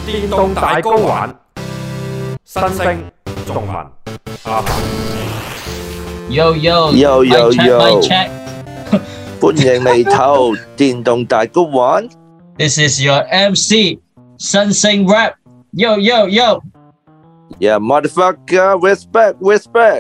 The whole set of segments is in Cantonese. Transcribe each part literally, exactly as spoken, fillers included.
電動大 GO 玩，新星仲文阿凡。 Yo yo yo yo yo， check， 歡迎嚟投電動大 GO 玩。 This is your M C 新星 rap。Yo yo yo。Yeah motherfucker respect respect。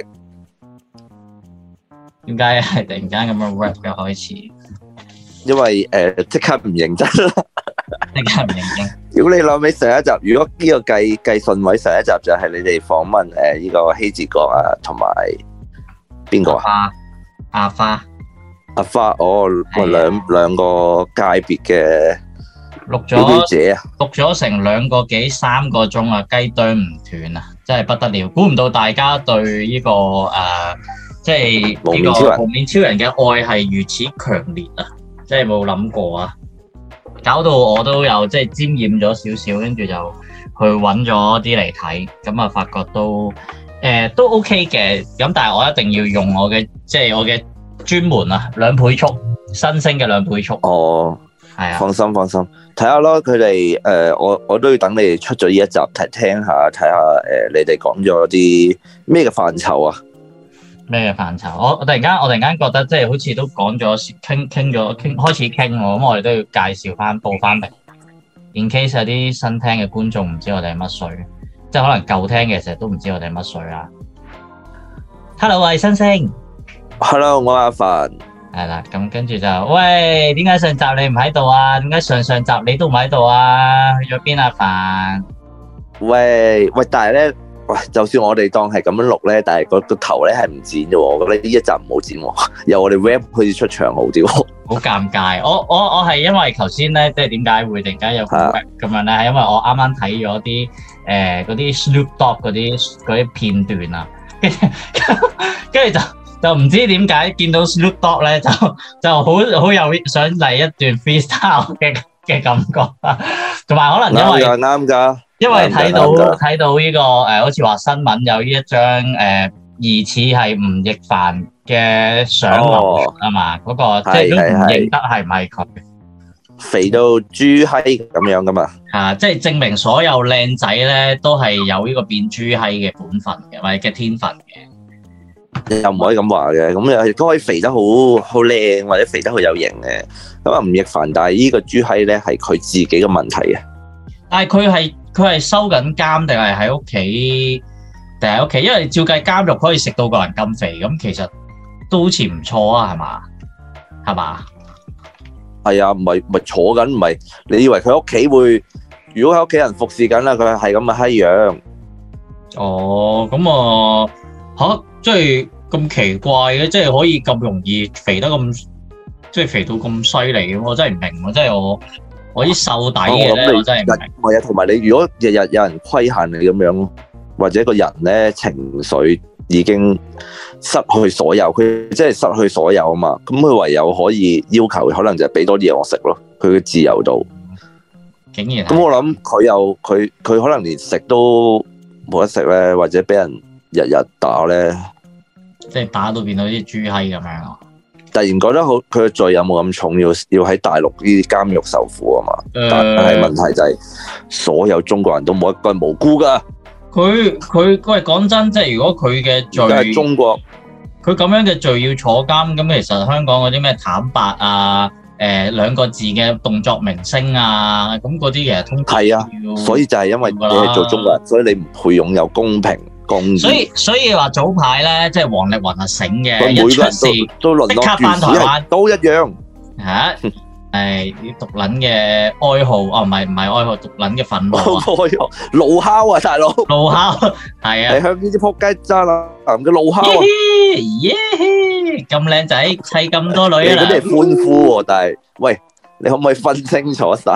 點解係突然間咁樣 rap 嘅開始？ 因為誒即刻唔認真啦。 即刻唔認真。 如果你諗起上一集，如果呢個計計順位，上一集就係你哋訪問誒呢個希治閣啊，同埋邊個啊？ 阿花。 阿花，哦，兩兩個界別嘅錄表表姐啊， 錄咗成兩個幾三個鐘啊，雞啄唔斷啊，真係不得了！估唔到大家對呢個誒，即係呢個蒙面超人嘅愛係如此強烈啊！真係冇諗過啊！搞到我都有即係沾染咗少少，跟住就去揾咗啲嚟睇，咁啊發覺都誒、呃、都 OK 嘅，咁但係我一定要用我嘅即係我嘅專門啊兩倍速新星嘅兩倍速。哦，係啊， 放心放心，睇下咯，佢哋誒我我都要等你哋出咗呢一集睇聽下，睇下誒你哋講咗啲咩嘅範疇啊？ 咩嘅範疇？我我突然間我突然間覺得即係好似都講咗傾傾咗傾開始傾喎，咁我哋都要介紹翻報翻名。In case 有啲新聽嘅觀眾唔知我哋係乜水，即係可能舊聽嘅成日都唔知我哋係乜水啦。Hello， 我係新星。 Hello， 我係阿凡。 係啦，咁跟住就喂，點解上集你唔喺度啊？點解上上集你都唔喺度啊？去咗邊啊？凡？ 喂喂，但係咧。喂，就算我哋當係咁樣錄咧，但係個個頭咧係唔剪嘅喎，我覺得呢一集唔好剪喎，由我哋 rap 好似出場好啲喎。 好尷尬，我我我係因為頭先咧，即係點解會突然間有 rap 咁樣咧？係因為我啱啱睇咗啲誒嗰啲 Snoop Dogg 嗰啲嗰啲片段啊，跟住跟住就就唔知點解見到 Snoop Dogg 咧，就就好好有想嚟一段 freestyle 嘅嘅感覺啊，同埋可能因為啱㗎啱㗎。 因為睇到睇到呢個誒，好似話新聞有呢一張誒疑似係吳亦凡嘅相流出啊嘛，嗰個即係都唔認得係唔係佢， 肥到豬閪咁樣噶嘛。 啊，即係證明所有靚仔咧都係有呢個變豬閪嘅本分嘅，或者嘅天分嘅。 又唔可以咁話嘅，咁又都可以肥得好好靚，或者肥得好有型嘅。咁啊吳亦凡，但係呢個豬閪咧係佢自己嘅問題嘅。但係佢係。佢係收緊監定係喺屋企定係喺屋企？因為照計監獄可以食到個人咁肥，咁其實都好似唔錯啊，係嘛？係嘛？係啊，唔係唔係坐緊，唔係你以為佢屋企會？如果喺屋企人服侍緊啦，佢係咁嘅閪樣。哦，咁啊嚇，即係咁奇怪嘅，即係可以咁容易肥得咁，即係肥到咁犀利嘅，我真係唔明喎，即係我。我啲瘦底嘅咧，我真係唔明。係啊，同埋你如果日日有人規限你咁樣，或者個人咧情緒已經失去所有，佢即係失去所有啊嘛。咁佢唯有可以要求，可能就係俾多啲嘢我食咯。佢嘅自由度，竟然咁我諗佢又佢佢可能連食都冇得食咧，或者俾人日日打咧，即係打到變到啲豬閪咁樣。突然覺得好，佢嘅罪有冇咁重，要要喺大陸呢啲監獄受苦啊嘛？呃、但係問題就係、是，所有中國人都冇一個係無辜噶。佢佢喂講真，即係如果佢嘅罪係中國，佢咁樣嘅罪要坐監，咁其實香港嗰啲咩坦白啊，誒、呃、兩個字嘅動作明星啊，咁嗰啲其實通係啊，所以就係因為你係做中國人，所以你唔配擁有公平。所以所以話早排咧，即係王力宏係醒嘅，一出事即刻翻台灣都一樣嚇。誒啲毒撚嘅哀號，哦唔係唔係哀號，毒撚嘅憤怒啊！怒哮啊，大佬！怒哮係啊！係向呢啲撲街渣男嘅怒哮啊！耶！咁靚仔砌咁多女啊！嗰啲係歡呼喎，但係喂。你可唔可以分清楚晒？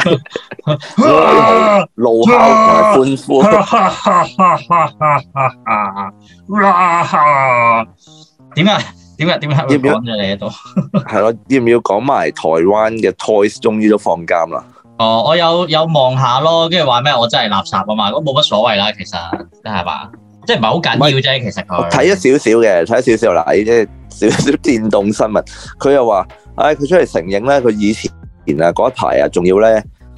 怒哮同埋歡呼。點解？點解？點解會講咗你喺度？係咯，要唔要講埋台灣嘅 Toys 終於都放監啦？哦，我有有望下咯，跟住話咩？我真係垃圾啊嘛，咁冇乜所謂啦，其實係嘛？即係唔係好緊要啫，其實佢睇咗少少嘅，睇咗少少啦，即係少少電動新聞。佢又話，唉，佢出嚟承認咧，佢以前。前啊嗰一排啊，仲要咧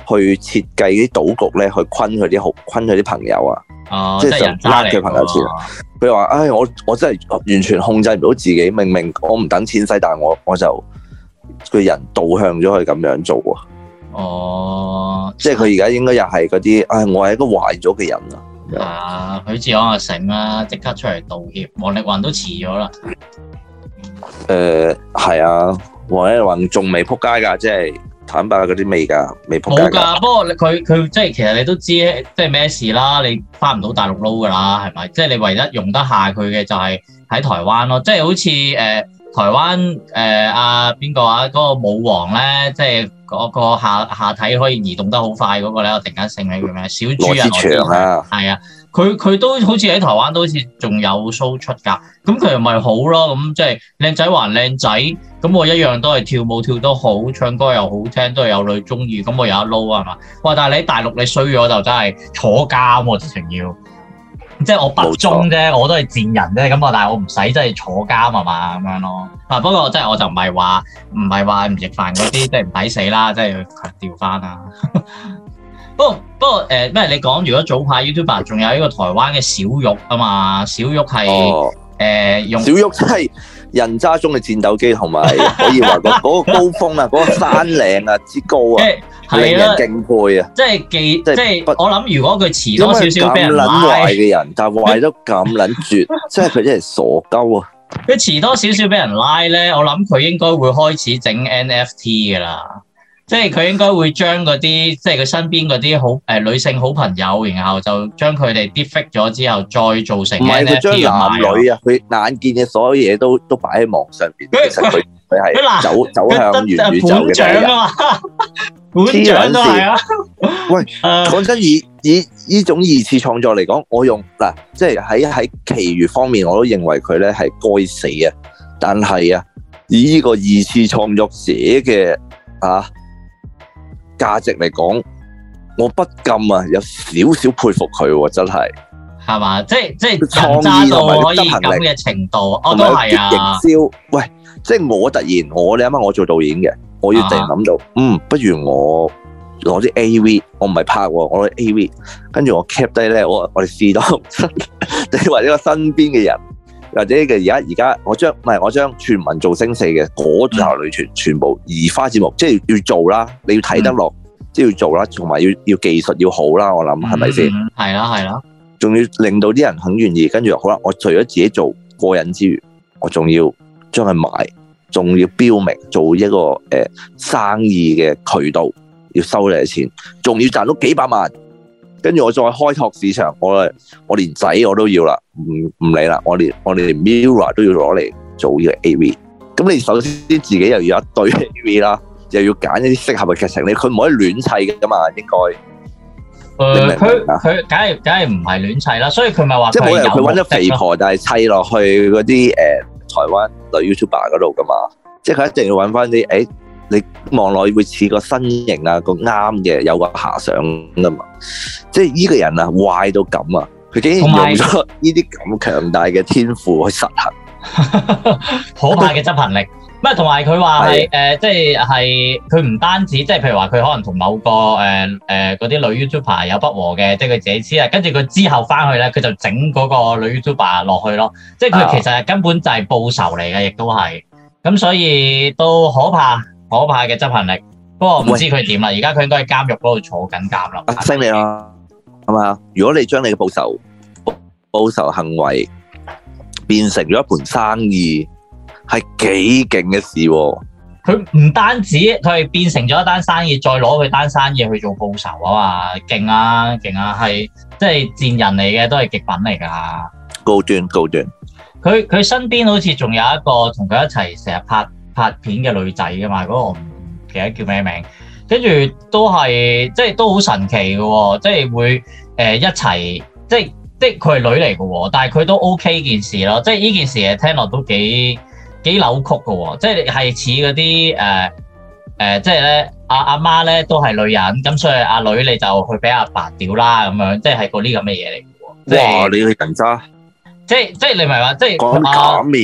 去設計啲賭局咧，去昆佢啲好昆佢啲朋友啊。 哦， 即係就呃佢朋友錢。佢話：唉，我我真係完全控制唔到自己，明明我唔等錢使，但係我我就個人導向咗佢咁樣做啊。 哦， 即係佢而家應該又係嗰啲，唉，我係一個壞咗嘅人啊。 啊，許志安啊醒啦，即刻出嚟道歉。王力宏都遲咗啦。 誒係啊，王力宏仲未撲街㗎，即係坦白嗰啲未㗎，未撲街㗎。冇㗎， 不過佢佢即係其實你都知即係咩事啦，你翻唔到大陸撈㗎啦，係咪？即係你唯一用得下佢嘅就係喺台灣咯，即係好似誒、呃、台灣誒阿邊個啊嗰、嗰個舞王咧，即係嗰個下下體可以移動得好快嗰個咧，我突然間醒起佢咩？小豬啊，羅志祥啊，係啊。佢佢都好似喺台灣都好似仲有 show 出㗎，咁佢又咪好咯，咁即係靚仔還靚仔，咁我一樣都係跳舞跳得好，唱歌又好聽，都係有女中意，咁我有得撈啊嘛。哇！但係你喺大陸你衰咗就真係坐監喎，直情要，即係我不忠啫，我都係賤人啫，咁啊，但係我唔使真係坐監啊嘛，咁樣咯。啊，不過即係我就唔係話唔係話吳亦凡嗰啲即係唔抵死啦，即係要強調翻啊。不過不過誒咩？你講如果早排 YouTuber 仲有一個台灣嘅小玉啊嘛，小玉係誒、哦呃、用小玉真係人渣中嘅戰鬥機，同埋可以話個嗰個高峰啊，嗰個山嶺啊之高啊，令人敬佩啊！ 即係記即係我諗，如果佢遲多少少俾人拉， 咁撚壞嘅人，但係壞得咁撚絕，即係佢真係傻鳩啊！ 佢遲多少少俾人拉咧，我諗佢應該會開始整 N F T 噶啦。即係佢應該會將嗰啲，即係佢身邊嗰啲好誒、呃、女性好朋友，然後就將佢哋 defect 咗之後，再做成 N F T 唔係佢將男女啊，佢眼見嘅所有嘢都都擺喺網上邊。其實佢佢係走走向元宇宙嘅第一人。本獎都係啊！喂，講真，以以呢種二次創作嚟講，我用嗱，即係喺喺其餘方面，我都認為佢咧係該死啊！但係啊，以呢個二次創作者嘅啊〜價值嚟講，我不禁啊有少少佩服佢喎，真係係嘛？即係即係創意同埋可以咁嘅程度，我都係啊。營銷， 喂，即係我突然我你諗下，我做導演嘅，我要突然諗到，啊、嗯，不如我攞啲 A V， 我唔係拍喎，我攞 A V， 跟住我 cap 低咧，我我哋試到，你或者個身邊嘅人，或者嘅而家而家，我將唔係我將全民造星四嘅嗰條女全全部移花節目，即係要做啦，你要睇得落，嗯、即係要做啦，同埋要要技術要好啦，我諗係咪先？ 係啦係啦， 仲要令到啲人肯願意，跟住好啦，我除咗自己做過癮之餘，我仲要將佢賣，仲要標明做一個誒、呃、生意嘅渠道，要收你嘅錢，仲要賺到幾百萬。跟住我再開拓市場，我我連仔我都要啦，唔唔理啦，我連我哋連 Mirror 都要攞嚟做呢個 A V。咁你首先自己又要一堆 A V 啦，又要揀一啲適合嘅劇情，你佢唔可以亂砌嘅㗎嘛，應該。 誒，佢佢梗係梗係唔係亂砌啦，所以佢咪話即係冇人佢揾咗肥婆，但係砌落去嗰啲誒台灣女 YouTuber 嗰度㗎嘛，即係佢一定要揾翻啲誒。你望落會似個身形啊，個啱嘅有個遐想噶嘛，即係呢個人啊壞到咁啊，佢竟然用咗呢啲咁強大嘅天賦去實行， 可怕嘅執行力。咩？同埋佢話係誒，即係係佢唔單止，即係譬如話佢可能同某個誒誒嗰啲女 YouTuber 有不和嘅，即係佢自己知啊，跟住佢之後翻去咧，佢就整嗰個女 YouTuber 落去咯，即係佢其實根本就係報仇嚟嘅，亦都係咁，所以都可怕。可怕嘅執行力，不過唔知佢點啦。而家佢應該喺監獄嗰度坐緊監啦。 升你啦，係嘛？如果你將你嘅報仇報仇行為變成咗一盤生意，係幾勁嘅事喎。 佢唔單止佢係變成咗一單生意，再攞佢單生意去做報仇啊嘛，勁啊勁啊，係即係賤人嚟嘅，都係極品嚟㗎。 高端高端。佢佢身邊好似仲有一個同佢一齊成日拍拍片嘅女仔噶嘛，嗰、那個我唔記得叫咩名，跟住都係即係都好神奇嘅喎，即係會誒、呃、一齊，即係即係佢係女嚟嘅喎，但係佢都 OK 件事咯，即係呢件事誒聽落都幾幾扭曲嘅喎，即係係似嗰啲誒誒，即係咧阿阿媽咧都係女人，咁所以阿女你就去俾阿爸屌啦咁樣，即係係嗰啲咁嘅嘢嚟嘅喎。哇！ 你去人渣， 即係即係你唔係話即係講咁嘅嘢。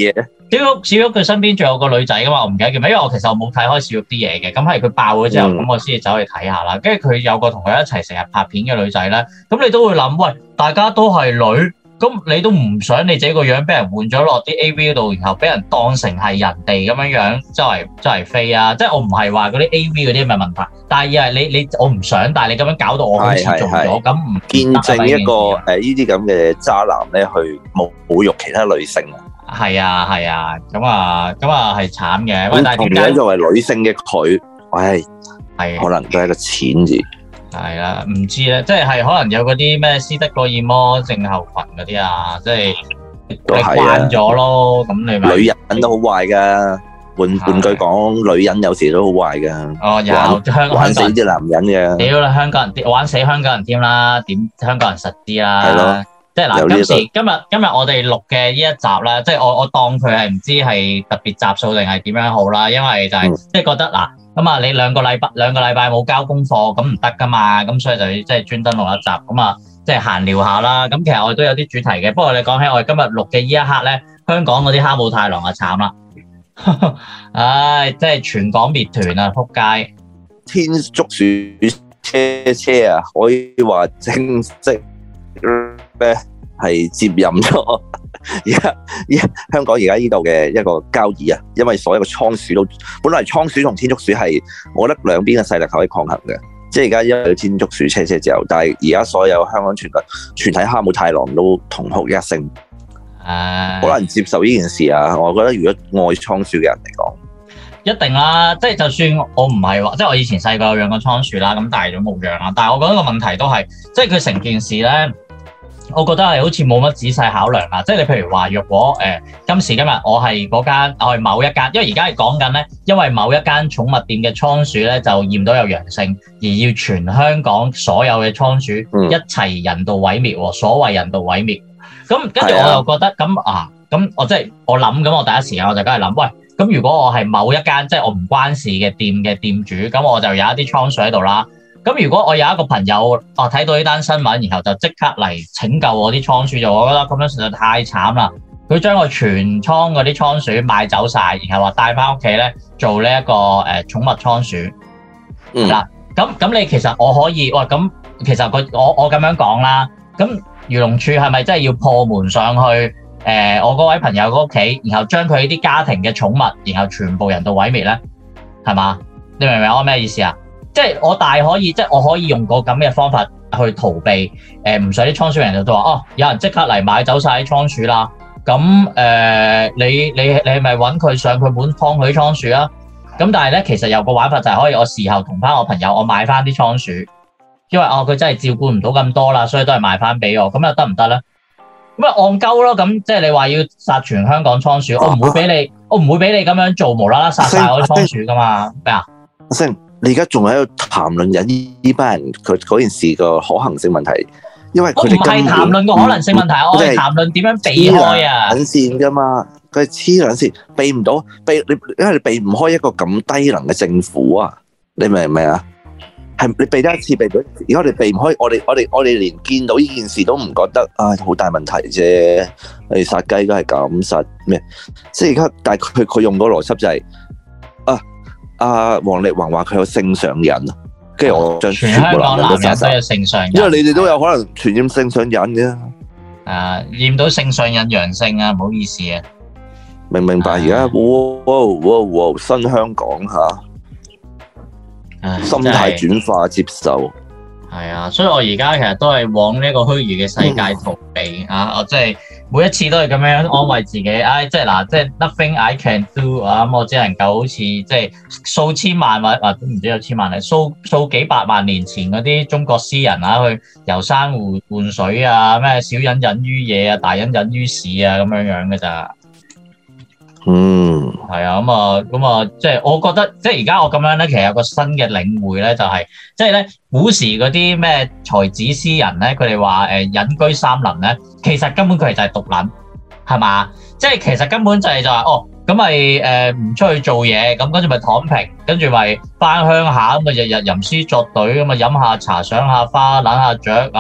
小玉小玉佢身邊仲有個女仔噶嘛，我唔記得叫咩，因為我其實我冇睇開小玉啲嘢嘅，咁係佢爆咗之後，咁、嗯、我先至走去睇下啦。跟住佢有個同佢一齊成日拍片嘅女仔咧，咁你都會諗，喂，大家都係女，咁你都唔想你自己個樣俾人換咗落啲 A V 度，然後俾人當成係人哋咁樣樣，周圍周圍飛啊！即係我唔係話嗰啲 A V 嗰啲咁嘅問題，但係而係你你我唔想，但係你咁樣搞到我好似做咗，咁唔見證一個誒呢啲咁嘅渣男咧去侮侮辱其他女性啊！ 係啊係啊，咁啊咁啊係慘嘅。喂，但係同樣作為女性嘅佢，唉，係可能都係個錢字。 係啦，唔知咧，即係可能有嗰啲咩斯德哥爾摩症候群嗰啲啊，即係你慣咗咯。咁你咪女人都好壞噶，換換句講，女人有時都好壞噶。 哦，有香玩死啲男人嘅。 屌啦，香港人玩死香港人添啦，點香港人實啲啦。係咯。即係嗱，今時今日今日我哋錄嘅呢一集啦，即係我我當佢係唔知係特別集數定係點樣好啦，因為就係即係覺得嗱，咁啊你兩個禮拜兩個禮拜冇交功課，咁唔得噶嘛，咁所以就要即係專登錄一集，咁啊即係閒聊下啦。咁其實我哋都有啲主題嘅，不過你講起我哋今日錄嘅呢一刻咧，香港嗰啲哈姆太郎啊慘啦，唉，即係全港滅團啊，撲街！ 天竺鼠車車啊，可以話正式咩係接任咗而家而家香港而家呢度嘅一個交椅啊，因為所有嘅倉鼠都本來倉鼠同天竺鼠係我覺得兩邊嘅勢力可以抗衡嘅，即係而家因為天竺鼠車車之後，但係而家所有香港全體全體哈姆太郎都同哭一聲，好難接受呢件事啊！我覺得如果愛倉鼠嘅人嚟講， 一定啦，即係就算我唔係話，即係我以前細個有養過倉鼠啦，咁大咗冇養啦，但係我覺得個問題都係，即係佢成件事咧。我覺得係好似冇乜仔細考量啊！即係你譬如話，若果誒、呃、今時今日我係嗰間，我係某一間，因為而家係講緊咧，因為某一間寵物店嘅倉鼠咧就驗到有陽性，而要全香港所有嘅倉鼠一齊人道毀滅喎，所謂人道毀滅。咁跟住我又覺得咁啊，咁我即係我諗咁，我第一時間我就梗係諗，喂，咁如果我係某一間即係我唔關事嘅店嘅店主，咁我就有一啲倉鼠喺度啦。咁如果我有一個朋友啊睇到呢單新聞，然後就即刻嚟拯救我啲倉鼠，就我覺得咁樣實在太慘啦！佢將我全倉嗰啲倉鼠買走晒，然後話帶翻屋企咧做呢、這、一個誒、呃、寵物倉鼠。嗱、嗯，咁咁你其實我可以，喂，咁其實佢我我咁樣講啦，咁漁農處係咪真係要破門上去？誒、呃，我嗰位朋友嗰屋企，然後將佢啲家庭嘅寵物，然後全部人道毀滅咧，係嘛？你明唔明我咩意思啊？即係我大可以，即係我可以用個咁嘅方法去逃避，誒唔使啲倉鼠人就都話哦，有人即刻嚟買走晒啲倉鼠啦。咁誒、呃，你你你係咪揾佢上佢門劏佢啲倉鼠啊？咁但係咧，其實有個玩法就係可以我事後同翻我朋友，我買翻啲倉鼠，因為哦佢真係照顧唔到咁多啦，所以都係賣翻俾我。咁又得唔得咧？咁啊戇鳩咯！咁即係你話要殺全香港倉鼠，我唔會俾你，我唔會俾你咁樣做，無啦啦殺晒我啲倉鼠噶嘛？咩啊？ 你而家仲喺度談論緊呢班人佢嗰件事個可行性問題，因為佢哋唔係談論個可能性問題，我係談論點樣避開啊！黐線㗎嘛，佢係黐兩線，避唔到，避你，因為你避唔開一個咁低能嘅政府啊！你明唔明啊？係你避得一次避到，而家我哋避唔開，我哋我哋我哋連見到呢件事都唔覺得啊好大問題啫！你殺雞都係咁殺咩？即係而家，但係佢佢用嗰個邏輯就係、是、啊。阿王力宏話佢有性上癮啊，跟住我將全香港男人都有性上癮，因為你哋都有可能傳染性上癮嘅。 啊，驗到性上癮陽性啊，唔好意思啊。 明唔明白？而家哇哇哇新香港吓，心態轉化接受。 係啊，所以我而家其實都係往呢個虛擬嘅世界逃避、嗯、啊！我即係每一次都係咁樣安慰自己，唉、哎，即係嗱，即係 nothing I can do 啊！咁我只能夠好似即係數千萬或或都唔知有千萬嚟，數數幾百萬年前嗰啲中國詩人啊，去遊山湖換水啊，咩小隱隱於野啊，大隱隱於市啊，咁樣樣嘅咋。 嗯， 係啊，咁啊，咁啊，即係我覺得，即係而家我咁樣咧，其實有個新嘅領會咧，就係即係咧古時嗰啲咩才子詩人咧，佢哋話誒隱居山林咧，其實根本佢哋就係獨撚，係嘛？即係其實根本就係就係哦，咁咪誒唔出去做嘢，咁跟住咪躺平，跟住咪翻鄉下咁啊，日日吟詩作對咁啊，飲下茶、賞下花、攬下雀啊，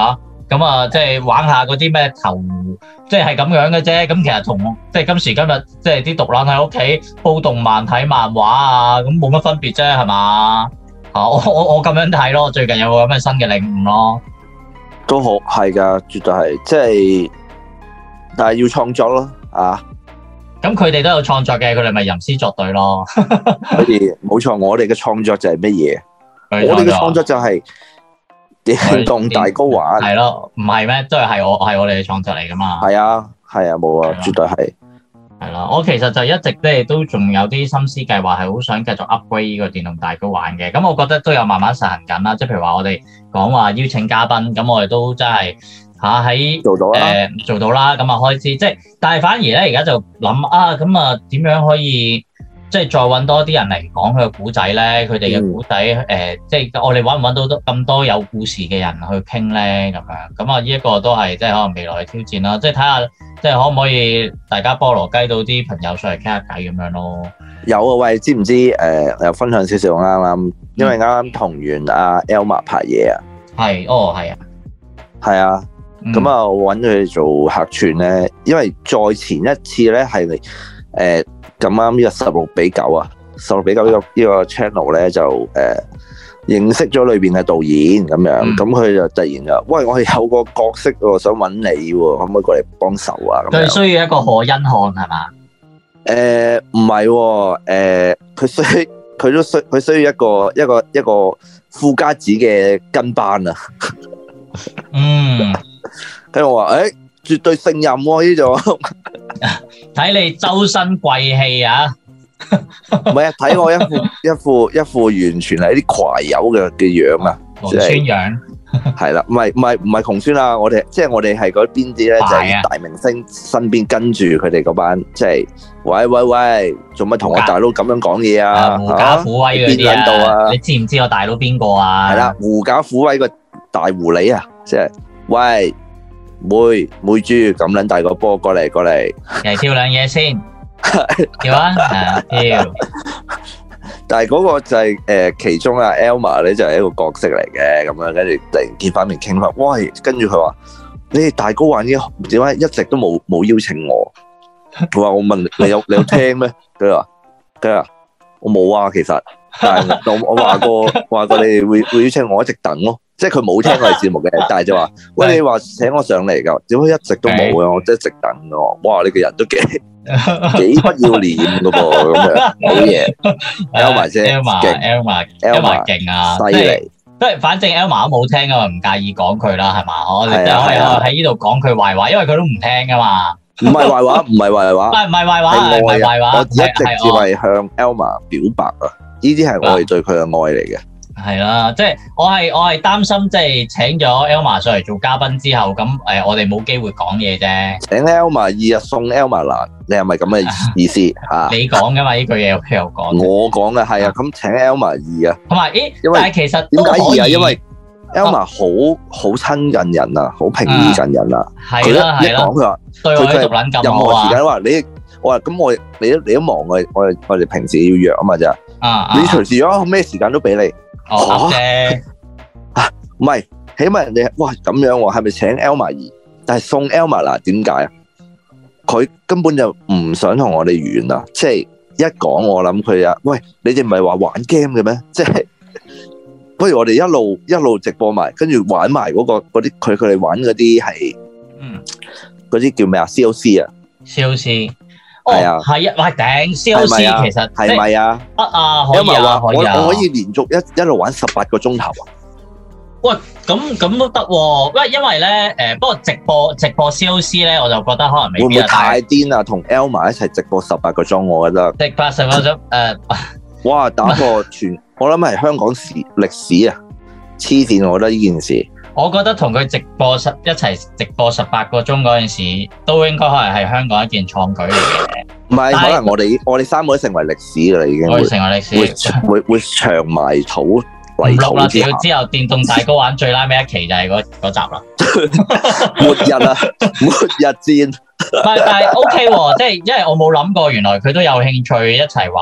咁啊，即係玩下嗰啲咩投，即係係咁樣嘅啫。咁其實同即係今時今日，即係啲獨撚喺屋企煲動漫睇漫畫啊，咁冇乜分別啫，係嘛？啊，我我我咁樣睇咯，最近有個咁嘅新嘅領悟咯。 都好係㗎，絕對係，即係，但係要創作咯，啊！ 咁佢哋都有創作嘅，佢哋咪吟詩作對咯。 佢哋冇錯，我哋嘅創作就係乜嘢？我哋嘅創作就係電動大 GO 玩。係咯， 唔係咩？都係係我係我哋嘅創作嚟噶嘛。 係啊，係啊，冇啊，絕對係。 係啦，我其實就一直咧都仲有啲心思計劃，係好想繼續 upgrade 呢個電動大 GO 玩嘅。咁我覺得都有慢慢實行緊啦。即係譬如話我哋講話邀請嘉賓，咁我哋都真係。嚇喺做到啦，誒做到啦，咁啊開始即係，但係反而咧而家就諗啊，咁啊點樣可以即係再揾多啲人嚟講佢嘅古仔咧？佢哋嘅古仔誒，即係我哋揾唔揾到咁多有故事嘅人去傾咧？咁樣咁啊，呢一個都係即係可能未來嘅挑戰啦。即係睇下，即係可唔可以大家菠蘿雞到啲朋友上嚟傾下偈咁樣咯？ 有啊，喂，知唔知誒？又分享少少啱啱，因為啱啱同完阿 Elma 拍嘢啊， 係，哦，係啊， 係啊。咁啊，我揾佢做客串咧，因為再前一次咧係誒咁啱呢個十六比九啊，十六比九呢個呢個 channel 咧就誒、呃、認識咗裏邊嘅導演咁樣，咁佢、嗯、就突然就喂，我係有個角色喎，想揾你喎，可唔可以過嚟幫手啊？咁佢需要一個何恩漢係嘛？ 誒唔係喎，誒佢需佢都需佢需要一個一個一個富家子嘅跟班啊。 嗯。 跟住我話，誒，絕對勝任喎呢種。 睇你周身貴氣啊！ 唔係啊，睇我一副一副一副完全係啲攜友嘅嘅樣啊， 窮酸樣。 係啦，唔係唔係唔係窮酸啊！我哋即係我哋係嗰邊啲咧，就係大明星身邊跟住佢哋嗰班，即係喂喂喂，做乜同我大佬咁樣講嘢啊？ 狐假虎威嗰啲啊！你知唔知我大佬邊個啊？ 係啦，狐假虎威個大狐狸啊，即係喂。妹妹豬咁撚大個波過嚟過嚟， 嚟跳兩嘢先，跳啊，跳！ 但係嗰個就係、是、誒、呃、其中啊 Elma 咧就係、是、一個角色嚟嘅，咁樣跟住突然見翻面傾翻，喂，跟住佢話你哋大 GO 玩嘅點解一直都冇冇邀請我？佢話我問你有你有聽咩？佢話佢話我冇啊，其實，但係我我話過話過你哋會會邀請我，一直等咯。即係佢冇聽我哋節目嘅，但係就話：喂，你話請我上嚟㗎，點解一直都冇嘅？我一直等㗎。哇！你個人都幾幾不要臉㗎噃，咁樣好嘢。Elma 姐勁 ，Elma，Elma 勁啊， 犀利。 即係反正 Elma 都冇聽啊嘛，唔介意講佢啦，係嘛？我哋就可以喺呢度講佢壞話，因為佢都唔聽㗎嘛。 唔係壞話，唔係壞話， 唔係壞話，唔係壞話。 我一直只係向 Elma 表白啊！呢啲係我哋對佢嘅愛嚟嘅。 係啦，即係我係我係擔心，即係請咗 Elma 上嚟做嘉賓之後，咁誒我哋冇機會講嘢啫。請 Elma 二日送 Elma 嗱，你係咪咁嘅意思嚇？ 你講噶嘛？呢句嘢我有講。 我講嘅係啊，咁請 Elma 二啊。 同埋，咦？但係其實點解二啊？因為 Elma 好好親近人啊，好平易近人啊。係啦係啦。一講佢話， 對我啲獨撚咁好啊。 任何時間話你，我話咁我你都你都忙嘅，我我哋平時要約啊嘛啫。啊！你隨時啊，咩時間都俾你。 哦啫， 啊唔係，起碼人哋哇咁樣喎，係咪請 Elma 二？但係送 Elma 嗱，點解啊？佢根本就唔想同我哋完啊！即係一講我諗佢啊，喂，你哋唔係話玩 game 嘅咩？即係不如我哋一路一路直播埋，跟住玩埋嗰個嗰啲佢佢哋玩嗰啲係，嗯，嗰啲叫咩啊 ？C O C 啊 ，C O C。係啊，係啊，喂頂 C O C 其實係咪啊？ 得啊，可以啊，可以啊， 我我可以連續一一路玩十八個鐘頭啊！ 喂，咁咁都得喎，因為因為咧誒，不過直播直播 C O C 咧，我就覺得可能未必會唔會太癲啊？同 Elma 一齊直播十八個鐘，我覺得直播十八個鐘誒， 哇！打破全，我諗係香港史歷史啊！黐線，我覺得呢件事。 我覺得同佢直播十一齊直播十八個鐘嗰陣時，都應該可能係香港一件創舉嚟嘅。 唔係，可能我哋我哋三個都成為歷史噶啦，已經會成為歷史， 會會會長埋土泥土之下。 之後電動大 GO 玩最拉尾一期就係嗰嗰集啦。 末日啊，末日戰。 但但係 OK 喎，即係因為我冇諗過，原來佢都有興趣一齊玩。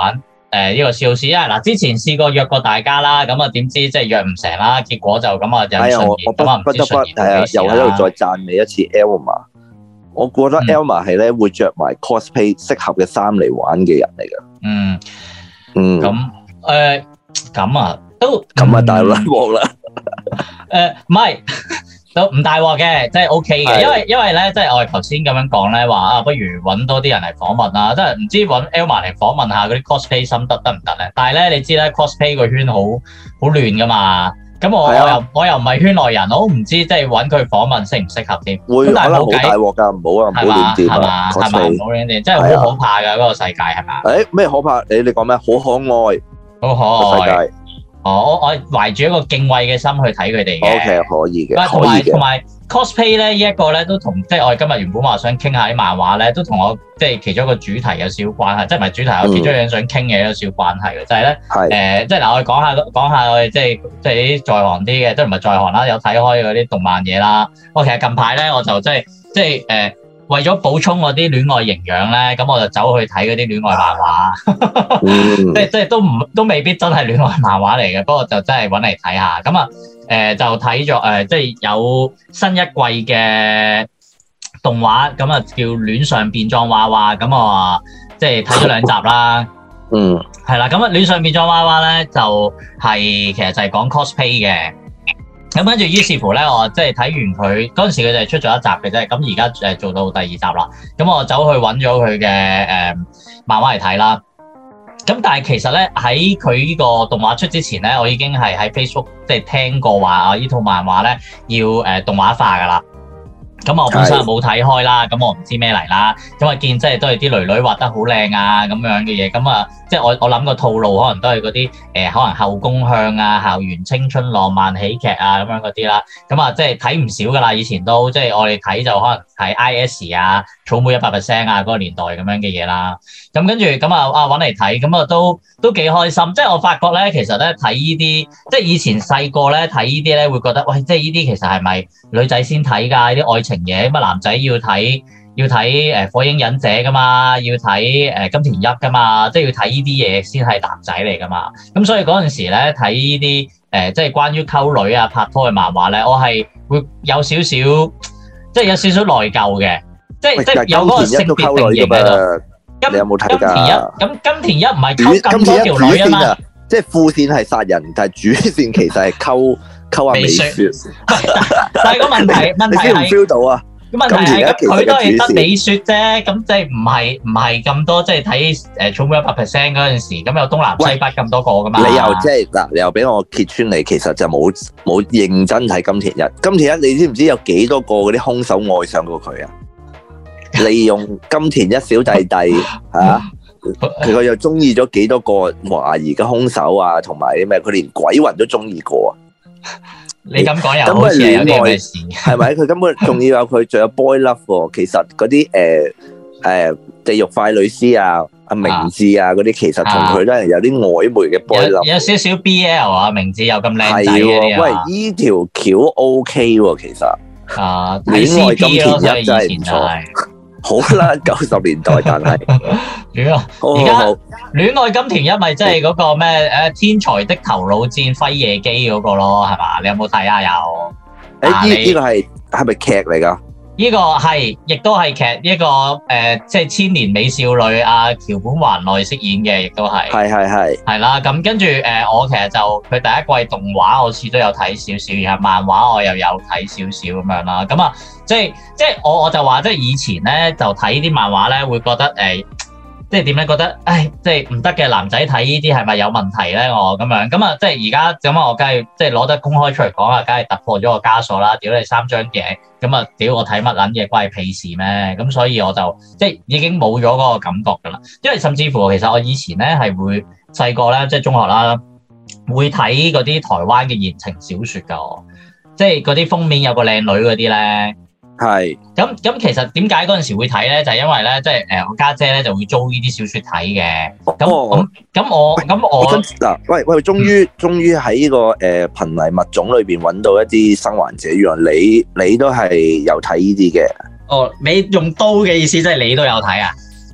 誒呢個小事啊！嗱，之前試過約過大家啦，咁啊點知即係約唔成啦，結果就咁啊引順延，咁啊唔知順延到幾時啦。又喺度再讚美一次 Elma，我覺得 Elma 係咧會着埋 cosplay 適合嘅衫嚟玩嘅人嚟㗎。嗯嗯，咁誒咁啊都咁啊大鑊啦！誒唔係。都唔大鑊嘅，即係 O K 嘅，因為因為咧，即係我哋頭先咁樣講咧，話啊，不如揾多啲人嚟訪問啦，即係唔知揾 Elma 嚟訪問下嗰啲 cosplay 心得得唔得咧？但係咧，你知咧 cosplay 個圈好好亂噶嘛，咁我、啊、我又我又唔係圈內人，我都唔知即係揾佢訪問適唔適合添。會可能好大鑊㗎，唔好啊，唔好亂掂啊 cosplay，唔好亂掂，真係好可怕㗎嗰、啊、個世界係嘛？誒咩可怕？你你講咩？好可愛，好可愛。我我懷住一個敬畏嘅心去睇佢哋嘅 ，OK 可以嘅，同埋同埋 cosplay 咧呢一個咧都同即係我哋今日原本話想傾下啲漫畫咧，都同我即係其中一個主題有少少關係，即係唔係主題，我其中一樣想傾嘅有少少關係嘅，就係咧誒，即係嗱我哋講下講下我哋即係即係啲在行啲嘅，即係唔係在行啦，有睇開嗰啲動漫嘢啦。我其實近排咧我就即係即係誒。為咗補充我啲戀愛營養咧，咁我就走去睇嗰啲戀愛漫畫，即係即係都唔都未必真係戀愛漫畫嚟嘅，不過就真係搵嚟睇下。咁啊，誒、呃、就睇咗誒，即係有新一季嘅動畫，咁啊叫《戀上變裝娃娃》，咁啊即係睇咗兩集啦。嗯，係啦，咁啊《戀上變裝娃娃》咧就係、是、其實就係講 cosplay 嘅。咁跟住，於是乎咧，我即係睇完佢嗰陣時，佢就係出咗一集嘅啫。咁而家誒做到第二集啦。咁我走去揾咗佢嘅誒漫畫嚟睇啦。咁但係其實咧喺佢呢個動畫出之前咧，我已經係喺 Facebook 即係聽過話啊，呢套漫畫咧要誒、呃、動畫化噶啦。咁我本身冇睇開啦，咁我唔知咩嚟啦。咁啊見即係都係啲女女畫得好靚啊咁樣嘅嘢，咁啊即係我我諗個套路可能都係嗰啲誒可能後宮向啊、校園青春浪漫喜劇啊咁樣嗰啲啦。咁啊即係睇唔少噶啦，以前都即係我哋睇就可能係 I S 啊、草莓一百 percent 啊嗰個年代咁樣嘅嘢啦。咁跟住咁啊啊揾嚟睇，咁啊都都幾開心。即係我發覺咧，其實咧睇呢啲，即係以前細個咧睇呢啲咧會覺得，喂，即係呢啲其實係咪女仔先睇㗎？啲愛情嘢乜男仔要睇要睇誒火影忍者㗎嘛，要睇誒金田一㗎嘛，即係要睇呢啲嘢先係男仔嚟㗎嘛。咁所以嗰陣時咧睇呢啲誒即係關於溝女啊拍拖嘅漫畫咧，我係會有少少即係有少少內疚嘅，即係即係有嗰個性別定型喺度。金你有冇睇㗎？金田一咁金田一唔係溝咁多條女啊嘛，即係副線係殺人，但係主線其實係溝溝阿美雪。但係個問題問題係 feel 到啊？咁問題係佢都係得美雪啫，咁即係唔係唔係咁多，即係睇誒草莓一百 percent 嗰陣時，咁有東南西北咁多個㗎嘛？你又即係嗱，你又俾我揭穿你，其實就冇冇認真睇金田一。金田一你知唔知有幾多個嗰啲兇手愛上過佢啊？利用金田一小弟弟嚇，佢、啊、又中意咗幾多個懷疑嘅兇手啊，同埋啲咩？佢連鬼魂都中意過啊！你咁講又好似有啲咩事？係咪？佢根本仲要有佢，仲有 boy love 喎。其實嗰啲誒誒地獄快女師啊、阿明智啊嗰啲，其實同佢都係有啲曖昧嘅 boy love。有，有少少 B L 啊，明智又咁靚仔嘅。喂，依條橋 OK 喎，其實啊，戀愛金田一真係唔錯。好啦，九十年代，但係戀愛而家戀愛金田一咪即係嗰個咩誒天才的頭腦戰輝夜姬嗰個咯，係嘛？你有冇睇啊？有誒，呢呢個係係咪劇嚟噶？呢個係亦都係劇，一個誒即係千年美少女阿橋本環奈飾演嘅，亦都係係係係係啦。咁跟住誒，我其實就佢第一季動畫我似都有睇少少，然後漫畫我又有睇少少咁樣啦。咁啊，即係即係我我就話即係以前咧就睇啲漫畫咧，會覺得誒。即係點咧？覺得，唉，即係唔得嘅男仔睇呢啲係咪有問題咧？我咁樣咁啊，即係而家咁啊，我梗係即係攞得公開出嚟講啊，梗係突破咗個枷鎖啦！屌你三張鏡，咁啊，屌我睇乜撚嘢關你屁事咩？咁所以我就即係已經冇咗嗰個感覺㗎啦。因為甚至乎其實我以前咧係會細個咧，即係中學啦，會睇嗰啲台灣嘅言情小説㗎，即係嗰啲封面有個靚女嗰啲咧。係，咁咁其實點解嗰陣時會睇咧？就係、是、因為咧，即係誒我家姐咧就會租呢啲小説睇嘅。咁咁咁我咁我嗱，喂喂，終於終於喺呢個誒瀕危物種裏邊揾到一啲生還者，原來你你都係有睇呢啲嘅。哦，你用刀嘅意思即係你都有睇啊？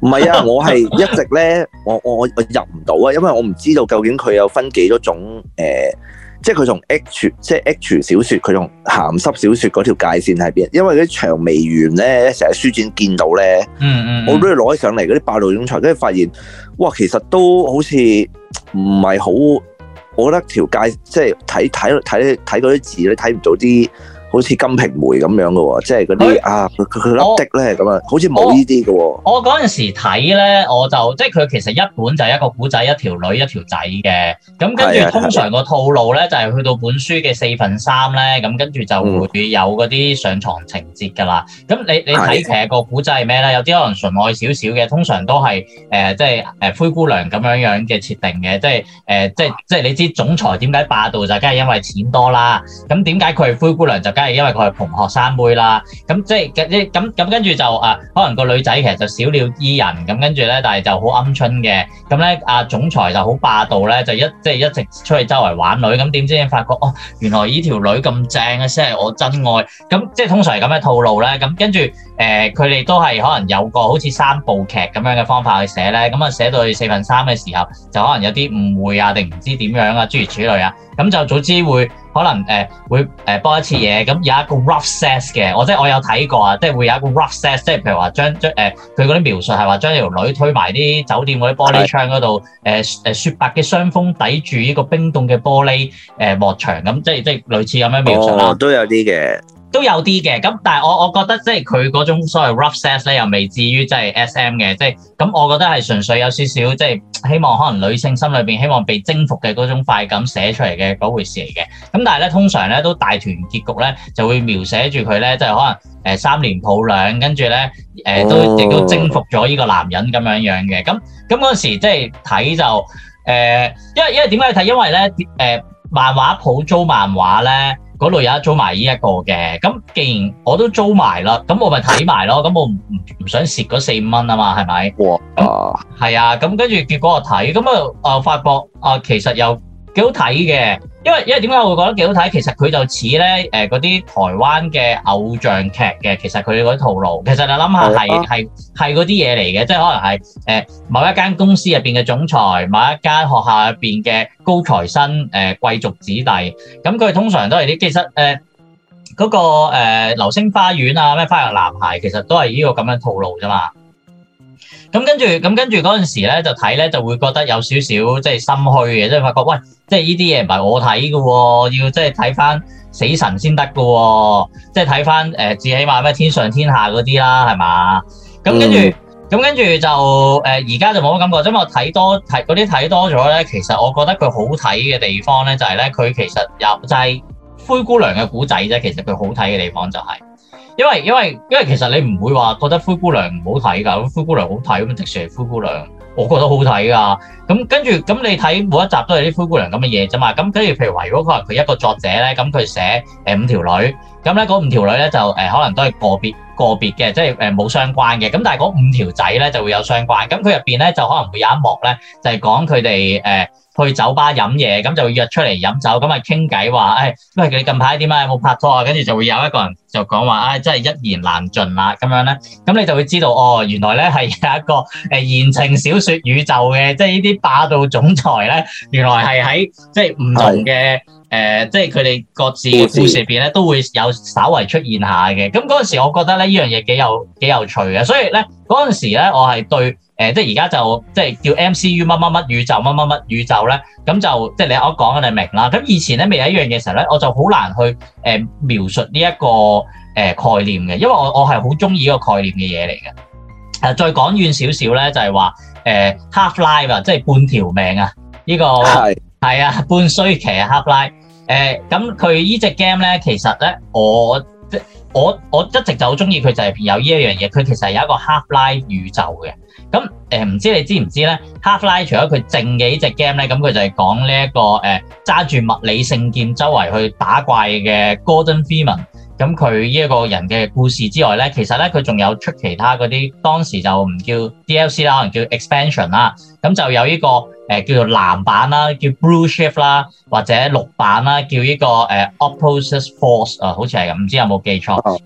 唔係啊，我係一直咧，我我我入唔到啊，因為我唔知道究竟佢有分幾多種誒、呃，即係佢同 H 即係 H 小說，佢同鹹濕小說嗰條界線喺邊？因為嗰啲薔薇園咧，成日書展見到咧， 嗯嗯， 我都要攞起上嚟嗰啲霸道總裁，跟住發現，哇，其實都好似唔係好，我覺得條界即係睇睇睇睇嗰啲字咧，睇唔到啲。好似金瓶梅咁樣嘅喎，即係嗰啲啊，佢佢粒的咧咁啊，好似冇呢啲嘅喎。 我嗰陣時睇咧，我就即係佢其實一本就係一個古仔，一條女一條仔嘅。咁跟住通常個套路咧，就係去到本書嘅四分三咧，咁跟住就會有嗰啲上床情節㗎啦。咁、嗯、你你睇其實個古仔係咩咧？有啲可能純愛少少嘅，通常都係誒、呃、即係誒灰姑娘咁樣樣嘅設定嘅，即係誒、呃、即係即係你知總裁點解霸道就梗係因為錢多啦。咁點解佢係灰姑娘就梗係因為佢係窮學生妹啦，咁即係咁咁跟住就啊，可能個女仔其實就小鳥依人，咁跟住咧，但係就好鵪鶉嘅，咁咧啊總裁就好霸道咧，就一即係一直出去周圍玩女，咁點知你發覺哦，原來呢條女咁正嘅先係我真愛，咁即係通常係咁嘅套路咧，咁跟住誒佢哋都係可能有個好似三部劇咁樣嘅方法去寫咧，咁啊寫到去四分三嘅時候，就可能有啲誤會啊，定唔知點樣啊，諸如此類啊，咁就早知會。可能誒、呃、會誒播一次嘢，咁有一個 rough sex 嘅，我即係我有睇過啊，即係會有一個 rough sex，即係譬如話將將誒佢嗰啲描述係話將條女推埋啲酒店嗰啲玻璃窗嗰度，誒誒雪白嘅雙峰抵住呢個冰凍嘅玻璃誒幕牆，咁即係即係類似咁樣描述啦、哦。都有啲嘅。都有啲嘅，咁但係我我覺得即係佢嗰種所謂 rough sex 咧，又未至於即係 S M 嘅，即係咁我覺得係純粹有少少即係希望可能女性心裏邊希望被征服嘅嗰種快感寫出嚟嘅嗰回事嚟嘅。咁但係咧通常咧都大團結局咧就會描寫住佢咧，即係可能誒三年抱兩，跟住咧誒都亦都征服咗呢個男人咁樣樣嘅。咁咁嗰時即係睇就誒、呃，因為因為點解睇？因為咧誒、呃、漫畫鋪租漫畫咧。嗰度有得租埋呢一個嘅，咁既然我都租埋啦，咁我咪睇埋咯，咁我唔唔想蝕嗰四五蚊啊嘛，係咪？哇！係啊，咁跟住結果我睇，咁啊啊發覺啊其實又幾好睇嘅，因為因為點解我會覺得幾好睇？其實佢就似咧誒嗰啲台灣嘅偶像劇嘅，其實佢哋嗰啲套路，其實你諗下係係係嗰啲嘢嚟嘅，即係可能係誒、呃、某一間公司入邊嘅總裁，某一間學校入邊嘅高材生誒、呃、貴族子弟，咁佢通常都係啲其實誒嗰、呃那個誒、呃、流星花園啊咩花樣男孩，其實都係呢個咁樣套路啫嘛。咁跟住，咁跟住嗰陣時咧，就睇咧就會覺得有少少即係心虛嘅，即係發覺喂，即係呢啲嘢唔係我睇嘅喎，要即係睇翻死神先得嘅喎，即係睇翻誒，至起碼咩天上天下嗰啲啦，係嘛？咁跟住，咁、嗯、跟住就誒，而家就冇乜感覺，因為我睇多睇嗰啲睇多咗咧，其實我覺得佢好睇嘅地方咧，就係咧佢其實有就係灰姑娘嘅古仔啫，其實佢好睇嘅地方就係、是。因為因為因為其實你唔會話覺得灰姑娘唔好睇㗎，灰姑娘好睇咁，迪士尼灰姑娘我覺得好睇㗎。咁跟住咁你睇每一集都係啲灰姑娘咁嘅嘢啫嘛。咁跟住譬如話，如果可能佢一個作者咧，咁佢寫誒五條女，咁咧嗰五條女咧就誒、呃、可能都係個別個別嘅，即係誒冇相關嘅。咁但係嗰五條仔咧就會有相關。咁佢入邊咧就可能會有一幕咧，就係講佢哋誒去酒吧飲嘢，咁就會約出嚟飲酒，咁啊傾偈話，誒，因為你近排點啊，有冇拍拖啊？跟住就會有一個人就講話，唉，真係一言難盡啦，咁樣咧，咁你就會知道，哦，原來咧係有一個誒言情小說宇宙嘅，即係呢啲霸道總裁咧，原來係喺即係唔同嘅誒，即係佢哋各自嘅故事入邊咧，都會有稍為出現下嘅。咁嗰陣時，我覺得咧呢樣嘢幾有幾有趣嘅，所以咧嗰陣時咧，我係對。誒、呃，即係而家就即係叫 M C U 乜乜乜宇宙乜乜乜宇宙咧，咁就即係你我講嘅你明啦。咁以前咧未有一樣嘢時候咧，我就好難去誒、呃、描述呢、這、一個誒、呃、概念嘅，因為我我係好中意呢個概念嘅嘢嚟嘅。誒、呃，再講遠少少咧，就係話誒 Half Life 啊，即係半條命啊，呢、這個係係啊半衰期啊 Half Life。誒，咁佢呢隻 game 咧，其實咧我即我我一直就好中意佢，就係有呢一樣嘢，佢其實係有一個 Half Life 宇宙嘅。咁誒唔知你知唔知咧 ？Half-Life 除咗佢正嘅呢隻 game 咧，咁佢就係講呢一個誒揸住物理聖劍周圍去打怪嘅 Gordon Freeman。咁佢呢一個人嘅故事之外咧，其實咧佢仲有出其他嗰啲，當時就唔叫 D L C 啦，可能叫 expansion 啦。咁就有呢個誒叫做藍版啦，叫 Blue Shift 啦，或者綠版啦，叫呢個誒 Opposite Force 啊，好似係咁，唔知有冇記錯？咁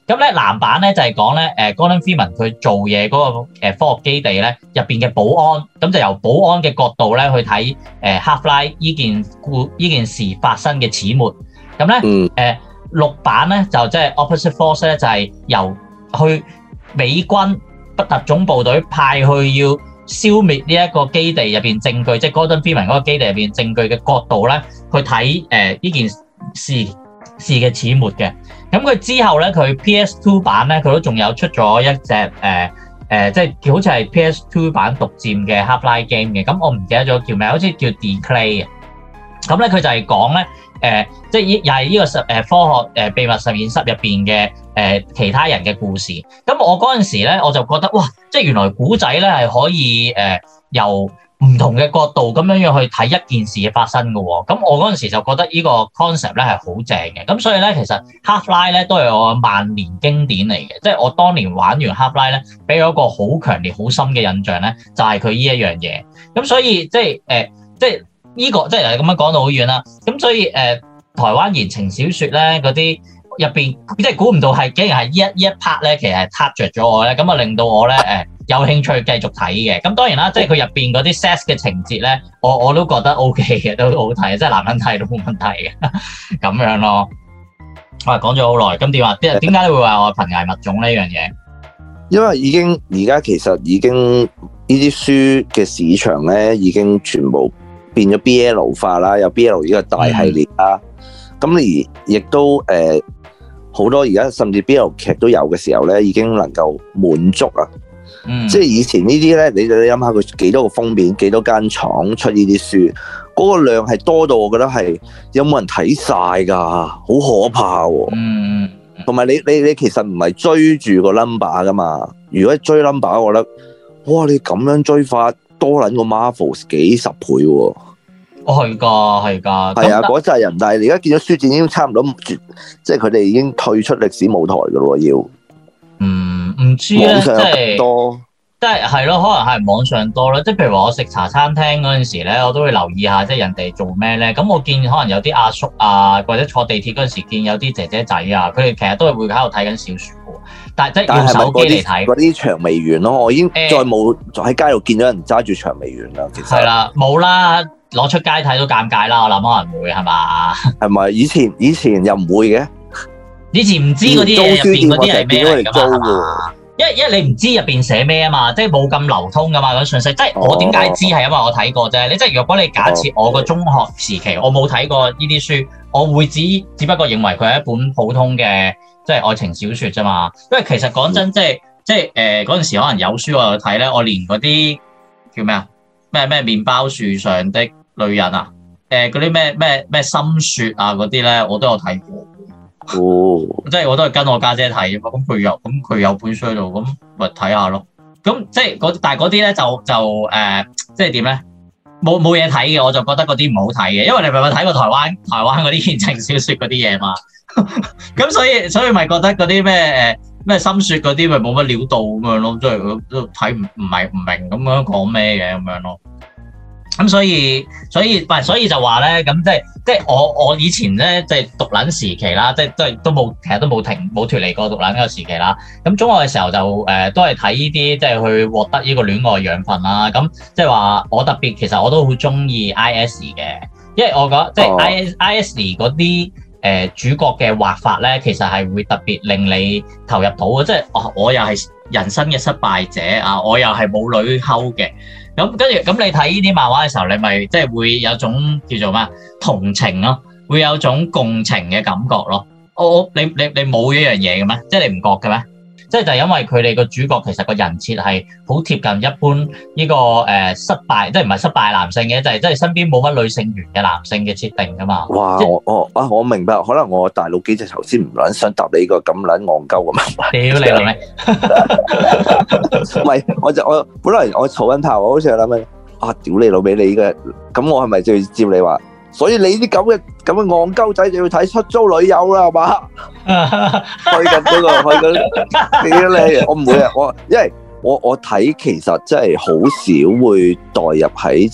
咁咧藍版咧就係講咧誒 Gordon Freeman 佢做嘢嗰個誒科學基地咧入邊嘅保安，咁就由保安嘅角度咧去睇誒 Half-Life 依件故依件事發生嘅始末。咁咧誒綠版咧就即係 Opposite Force 咧就係由去美軍不特種部隊派去要消滅呢一個基地入邊證據，即係 Gordon Freeman 嗰個基地入邊證據嘅角度咧去睇誒依件事事嘅始末嘅。咁佢之後咧，佢 P S two 版咧，佢都仲有出咗一隻誒誒，即係好似係 P S two 版獨佔嘅 Half-Life game 嘅。咁我唔記得咗叫咩，好似叫 Declare 嘅。咁咧佢就係講咧誒，即係又係呢個實誒科學誒秘密實驗室入邊嘅誒其他人嘅故事。咁我嗰陣時咧，我就覺得哇，即係原來古仔咧係可以誒、呃、由唔同嘅角度咁樣樣去睇一件事嘅發生嘅喎，咁我嗰陣時就覺得呢個 concept 咧係好正嘅，咁所以咧其實 Half-Life 咧都係我萬年經典嚟嘅，即係我當年玩完 Half-Life 咧，俾我一個好強烈、好深嘅印象咧，就係佢呢一樣嘢。咁所以即係誒、呃，即係呢、這個即係咁樣講到好遠啦。咁所以誒、呃，台灣言情小説咧嗰啲入邊，即係估唔到係竟然係呢一呢一 part 咧，其實係 touch 着咗我咧，咁啊令到我咧誒。呃有興趣繼續睇嘅，咁當然啦，即係佢入邊嗰啲 sex 嘅情節咧，我我都覺得 OK 嘅，都好睇，即係男人睇都冇問題嘅，咁樣咯。我係講咗好耐，咁點啊？點點解你會話我瀕危物種呢樣嘢？ 因為已經而家其實已經呢啲書嘅市場咧，已經全部變咗 B L 化啦，有 B L 呢個大系列啦。咁、嗯、而亦都誒好、呃、多而家甚至 B L 劇都有嘅時候咧，已經能夠滿足啊。嗯、即係以前呢啲咧，你你諗下佢幾多個封面，幾多間廠出呢啲書，嗰、那個量係多到我覺得係有冇人睇晒噶，好可怕喎、啊。嗯，同埋你你你其實唔係追住個 number 噶嘛，如果追 number，我覺得哇，你咁樣追法多撚過 Marvel 幾十倍喎、啊。 哦，係噶，係噶。 係啊，嗰扎人，但係你而家見到書展已經差唔多，即係佢哋已經退出歷史舞台噶咯，要。 嗯，唔知咧，即係多，即係係咯，可能係網上多啦。即係譬如話我食茶餐廳嗰陣時咧，我都會留意下，即係人哋做咩咧。咁我見可能有啲阿叔啊，或者坐地鐵嗰陣時見有啲姐姐仔啊，佢哋其實都係會喺度睇緊小説嘅。但係即係用手機嚟睇嗰啲薔薇園咯，我已經再冇喺街度見到人揸住薔薇園啦。其實係啦，冇啦，攞出街睇都尷尬啦。我諗可能會係嘛？係咪？以前以前又唔會嘅。以前唔知嗰啲嘢入邊嗰啲係咩嚟㗎嘛？因為因為你唔知入邊寫咩啊嘛，即係冇咁流通㗎嘛嗰啲信息。即係我點解知係因為我睇過啫。你即係如果你假設我個中學時期我冇睇過呢啲書，我會只只不過認為佢係一本普通嘅即係愛情小説啫嘛。因為其實講真，即係即係誒嗰陣時可能有書我有睇咧，我連嗰啲叫咩啊咩咩麵包樹上的女人啊，誒嗰啲咩咩咩心雪啊嗰啲咧，我都有睇過。哦，即係我都係跟我家姐睇，咁佢有咁佢有本書喺度，咁咪睇下咯。咁即係嗰但係嗰啲咧就就誒、呃，即係點咧？冇冇嘢睇嘅，我就覺得嗰啲唔好睇嘅，因為你咪咪睇過台灣台灣嗰啲言情小説嗰啲嘢嘛。咁所以所以咪覺得嗰啲咩誒咩心雪嗰啲咪冇乜料到咁樣咯，即係都睇唔唔係唔明咁樣講咩嘅咁樣咯。咁所以所以唔係所以就話咧，咁即係即係我我以前咧即係讀撚時期啦，即係都係都冇其實都冇停冇脫離過讀撚嗰個時期啦。咁中學嘅時候就誒、呃、都係睇呢啲即係去獲得呢個戀愛養分啦。咁即係話我特別其實我都好中意 I S 嘅，因為我覺得即係 I S I S 嗰啲誒主角嘅畫法咧，其實係會特別令你投入到嘅。即係我我又係人生嘅失敗者啊，我又係冇女溝嘅。咁跟住咁你睇呢啲漫畫嘅時候，你咪即係會有種叫做咩同情咯，會有種共情嘅感覺咯。我你你你冇呢樣嘢嘅咩？即係你唔覺嘅咩？即係就係因為佢哋個主角其實個人設係好貼近一般呢、這個誒、呃、失敗，即係唔係失敗男性嘅，就係即係身邊冇乜女性緣嘅男性嘅設定噶嘛。哇！我我啊我明白，可能我大腦機制頭先唔撚想答你呢個咁撚戇鳩嘅問題。屌你老味！唔係，我就我本來我嘈緊頭，我好似係諗緊啊！屌你老味，你呢個咁我係咪就要接你話？所以你啲咁嘅咁嘅戇鳩仔就要睇出租女友啦，係嘛？去緊嗰個，去緊幾靚？我唔會啊，我因為我我睇其實真係好少會代入喺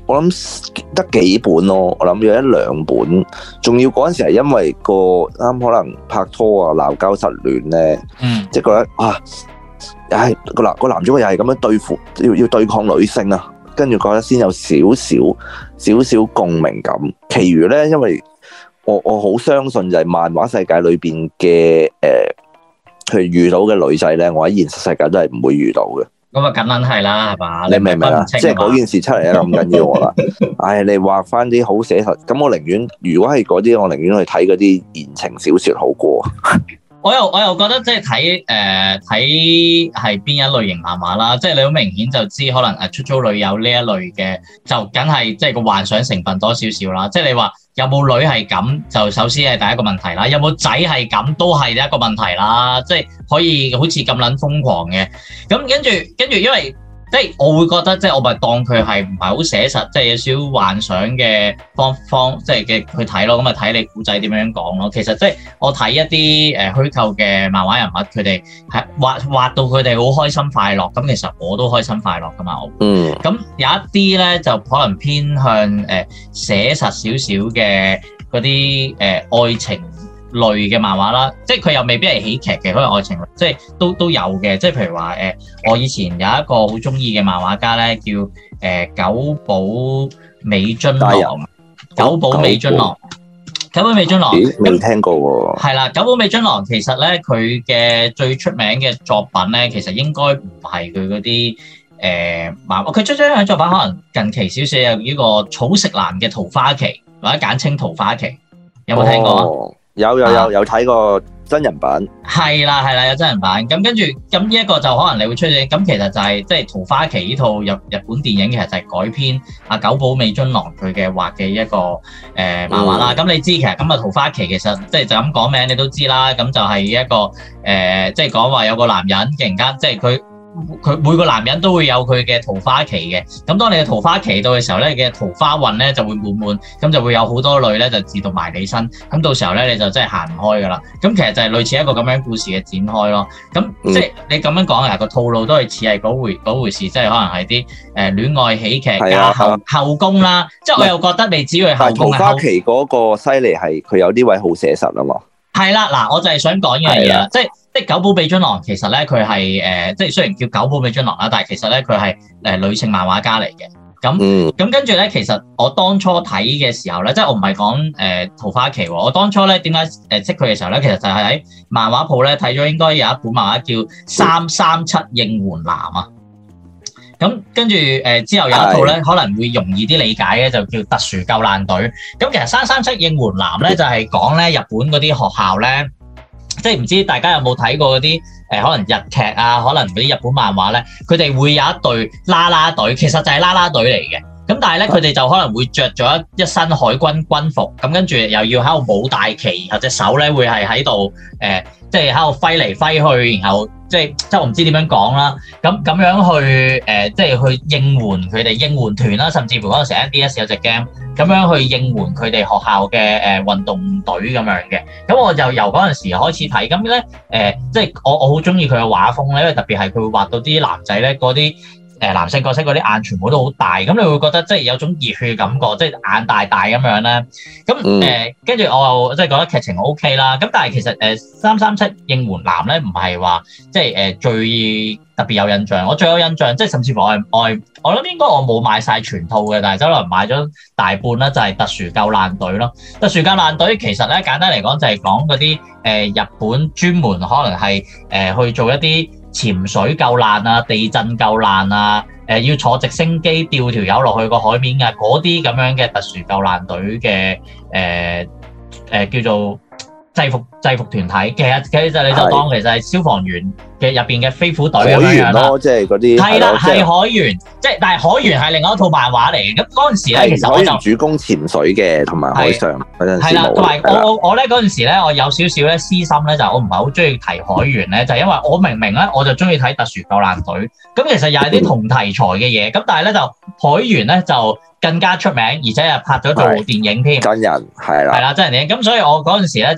我諗得幾本咯，我諗有一兩本，仲要嗰陣時係因為個啱可能拍拖啊鬧交失戀咧，嗯，即係覺得啊，唉個男個男主角又係咁樣對付，要要對抗女性啊，跟住覺得先有少少少少共鳴感。其餘咧，因為我我好相信就係漫畫世界裏邊嘅誒，佢遇到嘅女仔咧，我喺現實世界都係唔會遇到嘅。咁啊，梗撚係啦，係嘛？你明唔明啊？即係嗰件事出嚟咧咁緊要我啦。唉，你畫翻啲好寫實，咁我寧願如果係嗰啲，我寧願去睇嗰啲言情小說好過。我又我又覺得即係睇誒睇係邊一類型漫畫啦，即係你好明顯就知可能誒出租女友呢一類嘅，就梗係即係個幻想成分多少少啦。即係你話有冇女係咁，就首先係第一個問題啦。有冇仔係咁，都係第一個問題啦。即係可以好似咁撚瘋狂嘅，咁跟住跟住，因為即係我會覺得，即係我咪當佢係唔係好寫實，即係有少少幻想嘅方方，即係嘅去睇咯。咁咪睇你古仔點樣講咯。其實即係我睇一啲誒虛構嘅漫畫人物，佢哋係畫畫到佢哋好開心快樂。咁其實我都開心快樂噶嘛。我嗯。咁有一啲咧就可能偏向誒寫實少少嘅嗰啲誒愛情類嘅漫畫啦，即係佢又未必係喜劇嘅，可能愛情類，即係都都有嘅。即係譬如話誒、呃，我以前有一個好中意嘅漫畫家咧，叫誒、呃、久保美津郎。久保美津郎，久保美津郎，未聽過喎。係啦，久保美津郎其實咧，佢嘅最出名嘅作品咧，其實應該唔係佢嗰啲誒漫畫。佢出咗一樣作品，可能近期少少有呢個草食男嘅桃花期，或者簡稱桃花期，有冇聽過啊？哦有有有有睇過真人版，係啦係啦有真人版，咁跟住咁呢一個就可能你會出現，咁其實就係即係《桃花期》呢套日日本電影，其實就係改編阿久保美津郎佢嘅畫嘅一個誒、呃、漫畫啦。咁、嗯、你知其實咁啊《桃花期》其實即係就咁講名你都知啦，咁就係一個誒即係講話有個男人突然間即係佢。佢每個男人都會有佢嘅桃花期嘅，咁當你嘅桃花期到嘅時候咧，你嘅桃花運咧就會滿滿，咁就會有好多女咧就自動埋你身，咁到時候咧你就真係行唔開噶啦。咁其實就係類似一個咁樣故事嘅展開咯。咁即係你咁樣講啊，個套路都係似係嗰回嗰回事，即係可能係啲誒戀愛喜劇加後後宮啦。即係我又覺得你只要係後宮。桃花期嗰個犀利係佢有啲位好寫實啊嘛。係啦，嗱，我就係想講呢樣嘢啦，即係。即係久保美津郎其實咧佢係誒，即係雖然叫久保美津郎啦，但係其實咧佢係誒女性漫畫家嚟嘅。咁咁、嗯、跟住咧，其實我當初睇嘅時候咧，即係我唔係講誒桃花期喎。我當初咧點解誒識佢嘅時候咧，其實就係喺漫畫鋪咧睇咗應該有一本漫畫叫《三三七應援男》啊。咁跟住誒、呃、之後有一套咧可能會容易啲理解嘅，就叫特殊救難隊。咁其實《三三七應援男》咧就係講咧日本嗰啲學校咧。即係唔知大家有冇睇過嗰啲誒可能日劇啊，可能嗰啲日本漫畫咧，佢哋會有一隊啦啦隊，其實就係啦啦隊嚟嘅。咁但係咧，佢哋就可能會着咗一一身海軍軍服，咁跟住又要喺度舞大旗，或者手咧會係喺度誒，即係喺度揮嚟揮去，然後即係即係我唔知點樣講啦。咁咁樣去誒、呃，即係去應援佢哋應援團啦，甚至乎嗰陣時 N D S 有隻 game 咁樣去應援佢哋學校嘅誒運動隊咁樣嘅。咁我就由嗰陣時開始睇，咁咧誒，即係我我好中意佢嘅畫風咧，因為特別係佢會畫到啲男仔咧嗰啲。誒男性角色嗰啲眼全部都好大，咁你會覺得即係有種熱血嘅感覺，即係眼大大咁樣咧。咁誒跟住我又即係覺得劇情 O K 啦。咁但係其實誒三三七應援男咧唔係話即係誒最特別有印象。我最有印象即係甚至乎我係我係我諗應該我冇買晒全套嘅，但係周圍買咗大半啦，就係特殊救難隊咯。特殊救難隊其實咧簡單嚟講就係講嗰啲誒日本專門可能係誒、呃、去做一啲潛水救難啊、地震救難啊、誒、呃、要坐直升機吊條友落去個海面啊，嗰啲咁樣嘅特殊救難隊嘅誒誒叫做制服制服團體。其實其實你就當其實係消防員嘅入邊嘅飛虎隊咁樣啦，即係嗰啲係啦，係海員，即係但係海員係另外一套漫畫嚟嘅。咁嗰陣時咧，其實我就主攻潛水嘅，同埋海上嗰陣時冇。係啦，同埋我我我咧嗰陣時咧，我有少少咧私心咧，就我唔係好中意提海員咧，就係因為我明明咧我就中意睇特殊救難隊，咁其實又係啲同題材嘅嘢，咁但係咧就海員咧就更加出名，而且又拍咗做電影添，真人係啦，係啦真人電影。咁所以我嗰陣時咧就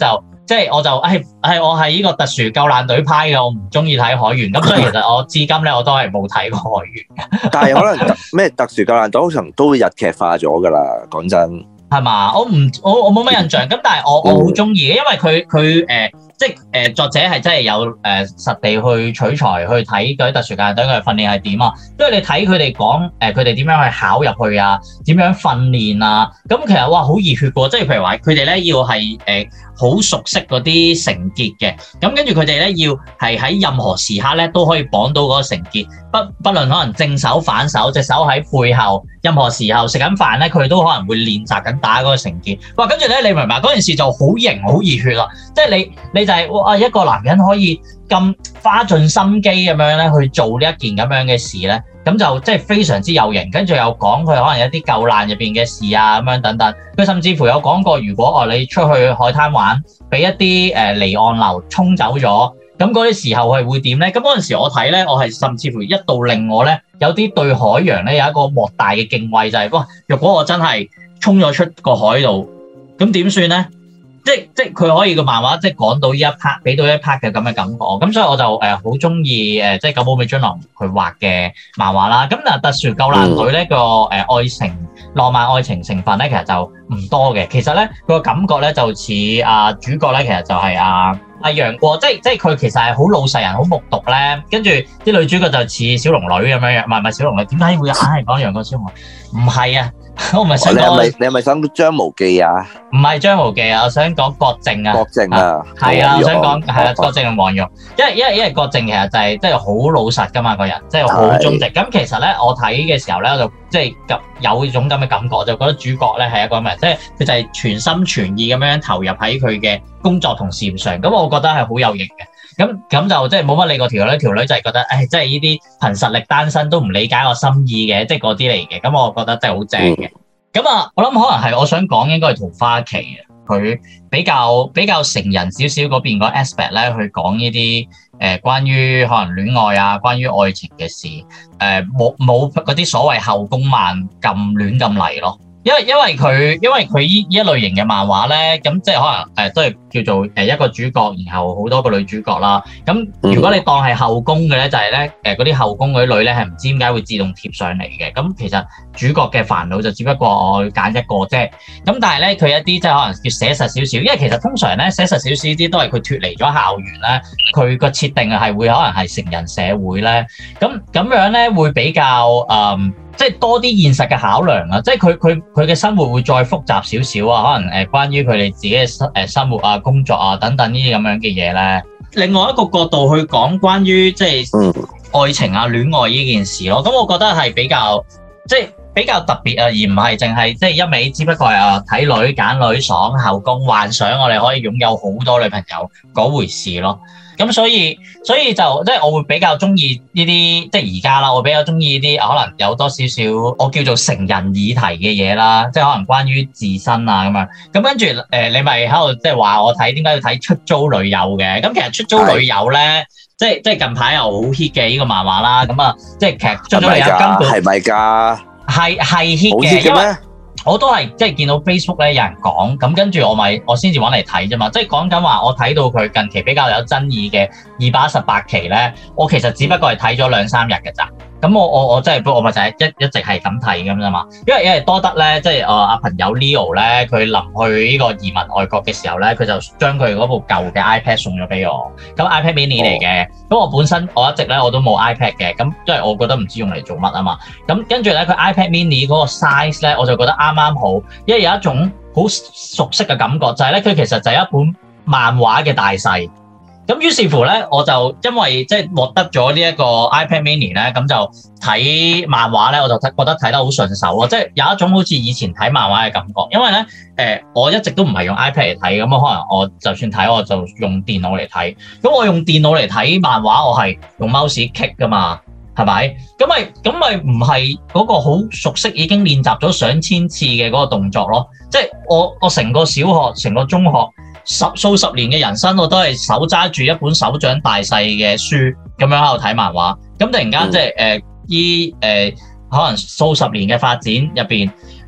即係我就係係我係呢個特殊救難隊派嘅，我唔中意睇海員，咁所以其實我至今咧我都係冇睇過海員嘅。 但係可能特咩特殊救難隊通常都會日劇化咗㗎啦，講真。係嘛？我唔我我冇乜印象，咁但係我我好中意嘅，因為佢佢誒即係誒、呃、作者係真係有誒、呃、實地去取材去睇嗰啲特殊救難隊嘅訓練係點啊，因為你睇佢哋講誒佢哋點樣去考入去啊，點樣訓練啊，咁其實哇好熱血㗎，即係譬如話佢哋咧要係誒好熟悉嗰啲繩結嘅，咁跟住佢哋咧要係喺任何時刻咧都可以綁到嗰個繩結，不不論可能正手反手，隻手喺背後，任何時候食緊飯咧，佢都可能會練習緊打嗰個繩結。哇！跟住咧，你明唔明嗰件事就好型、好熱血啦！即係你你就係、是、哇一個男人可以咁花盡心機咁樣咧去做呢一件咁樣嘅事咧，咁就即係非常之有型。跟住又講佢可能有啲救難入邊嘅事啊咁樣等等。佢甚至乎有講過，如果哦你出去海灘玩，俾一啲誒離岸流沖走咗。咁嗰啲時候係會點咧？咁嗰陣時我睇咧，我係甚至乎一度令我咧有啲對海洋咧有一個莫大嘅敬畏，就係、是、哇！若果我真係衝咗出個海度，咁點算咧？即即佢可以個漫畫即講到呢一 part， 俾到一 part 嘅咁嘅感覺。咁所以我就誒好中意誒即久保美津濃佢畫嘅漫畫啦。咁嗱，特殊救難隊呢個誒愛情浪漫愛情成分咧，其實就唔多嘅。其實咧佢個感覺咧就似啊主角咧，其實就係啊。阿楊過，即係即係佢其實係好老實人，好木獨咧。跟住啲女主角就似小龍女咁樣樣，唔係唔係小龍女，點解會硬係講楊過小龍女？唔係啊，我唔係想講。你係咪你係咪想張無忌啊？唔係張無忌啊，我想講郭靖啊。郭靖啊，係啊，我想講係啊，郭靖同黃蓉，因為因為因為郭靖其實就係即係好老實噶嘛個人，即係好忠直。咁其實咧，我睇嘅時候咧，我就即係咁有種咁嘅感覺，就覺得主角咧係一個咩？即係佢就係全心全意咁樣投入喺佢嘅工作同事業上。咁我覺得係好有型嘅。咁咁就即係冇乜理過條女，條女就係覺得，誒，即係呢啲憑實力單身都唔理解我心意嘅，即係嗰啲嚟嘅。咁我覺得真係好正嘅。咁啊、嗯，我諗可能係我想講應該係桃花期嘅，佢比較比較成人少少嗰邊個 aspect 咧，去講呢啲誒關於可能戀愛啊，關於愛情嘅事，誒冇冇嗰啲所謂後宮漫咁亂咁嚟咯。因為因為佢因為佢依依一類型嘅漫畫咧，咁即係可能誒、呃、都係叫做誒一個主角，然後好多個女主角啦。咁如果你當係後宮嘅咧，就係咧誒嗰啲後宮嗰啲女咧係唔知點解會自動貼上嚟嘅。咁其實主角嘅煩惱就只不過我揀一個啫。咁但係咧佢一啲即係可能叫寫實少少，因為其實通常咧寫實少少啲都係佢脫離咗校園咧，佢個設定係會可能係成人社會咧。咁咁樣咧會比較誒。嗯即係多啲現實嘅考量啊！即係佢佢佢嘅生活會再複雜少少啊，可能誒關於佢哋自己嘅生誒生活啊、工作啊等等呢啲咁樣嘅嘢咧。另外一個角度去講關於即係愛情啊、戀愛呢件事咯，咁我覺得係比較即係比較特別啊，而唔係淨係即係一味，只不過係啊睇女揀女爽後宮幻想我哋可以擁有好多女朋友嗰回事咯。咁所以所以就即係我會比較中意呢啲即係而家啦，我比較中意呢啲可能有多少少我叫做成人議題嘅嘢啦，即係可能關於自身啊咁樣。咁跟住誒、呃，你咪喺度即係話我睇點解要睇出租女友嘅？咁其實出租女友咧，即係即係近排又好 hit 嘅呢個漫畫啦。咁啊，即係其實出租女友根本係咪㗎？係係 hit 嘅，因為我都係即係見到 Facebook 咧有人講，咁跟住我咪我先至揾嚟睇啫嘛。即係講緊話，我睇到佢近期比較有爭議嘅二百一十八期咧，我其實只不過係睇咗兩三日嘅咋。咁我我我真係我咪就係一一直係咁睇咁啫嘛。因為因為多得咧，即係誒阿朋友 Leo 咧，佢臨去呢個移民外國嘅時候咧，佢就將佢嗰部舊嘅 iPad 送咗俾我。咁 iPad mini 嚟嘅，咁、哦、我本身我一直咧我都冇 iPad 嘅，咁因為我覺得唔知用嚟做乜啊嘛。咁跟住咧佢 iPad mini 嗰個 size 咧，我就覺得啱啱好，因為有一種好熟悉嘅感覺，就係咧佢其實就係一本漫畫嘅大細。咁於是乎咧，我就因為即係獲得咗呢一個 iPad mini 咧，咁就睇漫畫咧，我就睇覺得睇得好順手咯，即係有一種好似以前睇漫畫嘅感覺。因為咧，誒、呃、我一直都唔係用 iPad 嚟睇，咁可能我就算睇我就用電腦嚟睇。咁我用電腦嚟睇漫畫，我係用 mouse click 噶嘛，係咪？咁咪咁咪唔係嗰個好熟悉已經練習咗上千次嘅嗰個動作咯。即係我我成個小學、成個中學。十數十年嘅人生，我都係手揸住一本手掌大細嘅書咁樣喺度睇漫畫。咁突然間即係誒依誒可能數十年嘅發展入邊，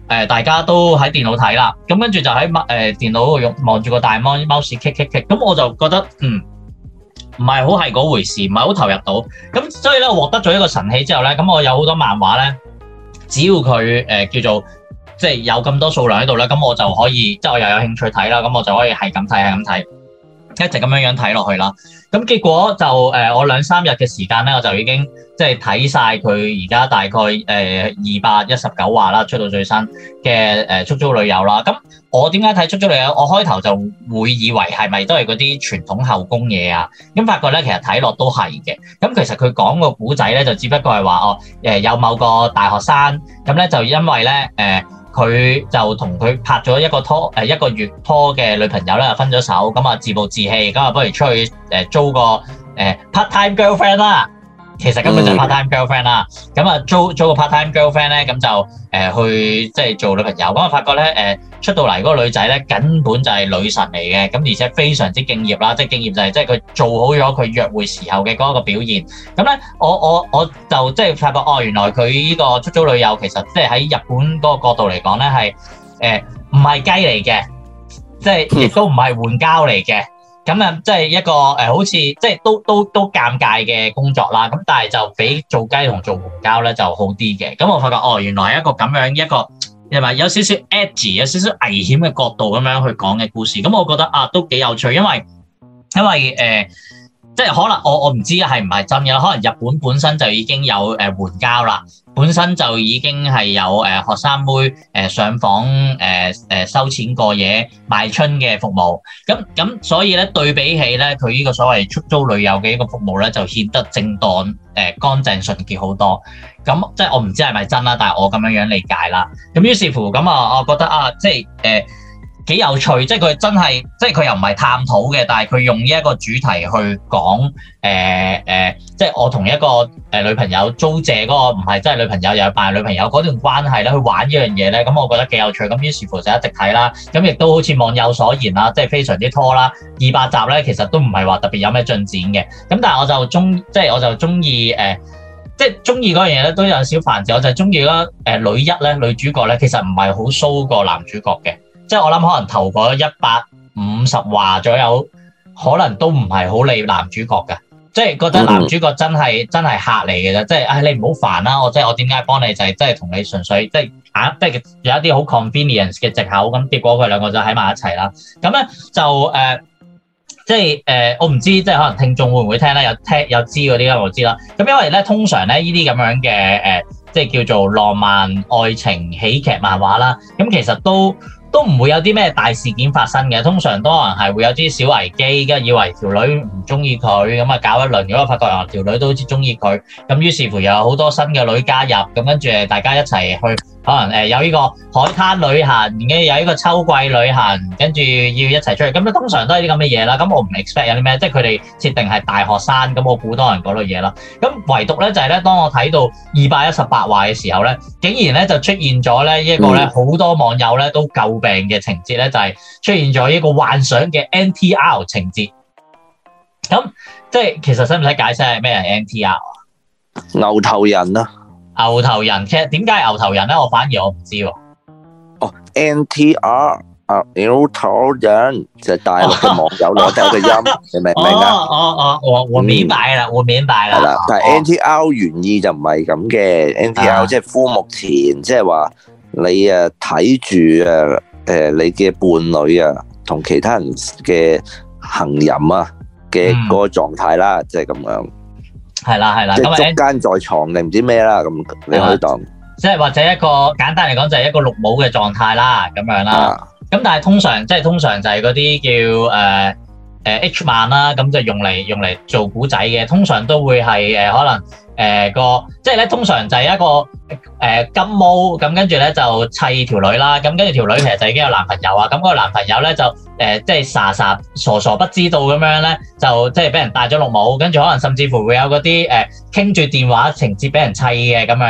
誒大家都喺電腦睇啦，咁跟住就喺誒電腦用望住個大 mon mouse click click click，咁我就覺得嗯唔係好係嗰回事，唔係好投入到。咁所以咧，我獲得咗一個神器之後咧，咁我有好多漫畫咧，只要佢誒、呃、叫做即係有咁多數量喺度咧，咁我就可以即係我又有興趣睇啦，咁我就可以係咁睇係咁睇，一直咁樣樣睇落去啦。咁結果就誒、呃、我兩三日嘅時間咧，我就已經即係睇晒佢而家大概誒二百一十九話啦，出到最新嘅誒《出租女友》啦。咁我點解睇《出租女友》？我開頭就會以為係咪都係嗰啲傳統後宮嘢啊？咁發覺咧，其實睇落都係嘅。咁其實佢講個古仔咧，就只不過係話哦誒有某個大學生咁咧，就因為咧誒。呃佢就同佢拍咗一個拖誒一個月拖嘅女朋友咧，分咗手，咁啊自暴自棄，咁啊不如出去誒租個誒 part time girlfriend 啦。其實根本就係 part time girlfriend 啦。咁啊租租個 part time girlfriend 咧，咁就誒、呃、去即係做女朋友。咁啊發覺咧誒、呃、出到嚟嗰個女仔咧，根本就係女神嚟嘅。咁而且非常之敬業啦，即係敬業就係即係佢做好咗佢約會時候嘅嗰個表現。咁咧我我我就即係發覺哦，原來佢呢個出租女友其實即係喺日本嗰個角度嚟講咧係誒唔係雞嚟嘅，即係亦都唔係援交嚟嘅。咁啊，即係一個誒、呃，好似即係都都都尷尬嘅工作啦。咁但係就比做雞同做援交咧就好啲嘅。咁我發覺哦，原來係一個咁樣一個係咪有少少 edgy、有少少危險嘅角度咁樣去講嘅故事。咁我覺得啊，都幾有趣，因為因為誒。呃即係可能我我唔知係唔係真嘅，可能日本本身就已經有誒援交啦，本身就已經係有誒、呃、學生妹誒、呃、上訪誒誒、呃、收錢過夜賣春嘅服務，咁咁所以咧對比起咧佢呢個所謂出租女友嘅一個服務咧就顯得正當誒、呃、乾淨純潔好多。咁即係我唔知係咪真啦，但係我咁樣樣理解啦。咁於是乎咁啊，我覺得啊，即係誒。呃幾有趣，即係佢真係，即係佢又唔係探討嘅，但係佢用呢一個主題去講，誒、呃、誒、呃，即係我同一個誒、呃、女朋友租借嗰個唔係真係女朋友，又係扮女朋友嗰段關係咧，去玩呢樣嘢咧，咁我覺得幾有趣，咁於是乎就一直睇啦，咁亦都好似網友所言啦，即係非常之拖啦，二百集咧其實都唔係話特別有咩進展嘅，咁但係我就中，即係我就中意誒，即係中意嗰樣嘢咧都有少煩字，我就係中意嗰誒女一咧女主角咧，其實唔係好騷過男主角嘅。即係我諗可能頭嗰一百五十話左右，可能都唔係好理男主角㗎，即係覺得男主角真係、嗯、真係客嚟嘅啫，即係唉、哎、你唔好煩啦，我即係我點解幫你就係即係同你純粹即係啊，即係有一啲好 convenience 嘅藉口，咁結果佢兩個就喺埋一齊啦。咁咧就誒、呃，即係誒、呃，我唔知即係可能聽眾會唔會聽咧？有聽有知嗰啲咧，我知啦。咁因為咧通常咧呢啲咁樣嘅誒、呃，即係叫做浪漫愛情喜劇漫畫啦，咁其實都。都唔會有啲咩大事件發生嘅，通常都可能係會有啲小危機，跟住以為條女唔中意佢，咁啊搞一輪，如果發覺啊條女都好似中意佢，咁於是乎又有好多新嘅女加入，咁跟住大家一齊去，可能誒有呢個海灘旅行，跟住有呢個秋季旅行，跟住要一齊出去，咁啊通常都係啲咁嘅嘢啦。咁我唔 expect 有啲咩，即係佢哋設定係大學生，咁我估多人嗰類嘢啦。咁唯獨咧就係咧，當我睇到二百一十八話嘅時候咧，竟然咧就出現咗咧一個咧好多網友咧都詬病嘅情節咧，就係出現咗一個幻想嘅 N T R 情節。咁即係其實使唔使解釋係咩係 N T R 啊？ 牛頭人啊！ 牛頭人，其實點解係牛頭人咧？我反而我唔知喎。 哦 ，N T R 啊，牛頭人就係大陸嘅網友攞低個音，你明唔明啊？ 哦哦哦，我我明白啦，我明白啦。係啦， 但係 N T R 原意就唔係咁嘅 ，N T R 即係夫目前，即係話你啊睇住啊誒你嘅伴侶啊同其他人嘅行淫啊嘅嗰個狀態啦，即係咁樣。係啦係啦，即係捉奸在床定唔知咩啦，咁你可以當， 即係或者一個簡單嚟講就係一個綠帽嘅狀態啦，咁樣啦。咁、啊、但係通常即係通常就係嗰啲叫誒誒、呃、H 漫啦，咁就用嚟用嚟做古仔嘅，通常都會係誒、呃、可能誒、呃、個即係咧，通常就係一個誒、呃、金毛咁，跟住咧就砌條女啦，咁跟住條女其實就已經有男朋友啊，咁、嗰個男朋友咧就。誒、呃，即係傻傻傻傻不知道咁樣咧，就即係俾人戴咗綠帽，跟住可能甚至乎會有嗰啲誒傾住電話情節俾人砌嘅咁樣，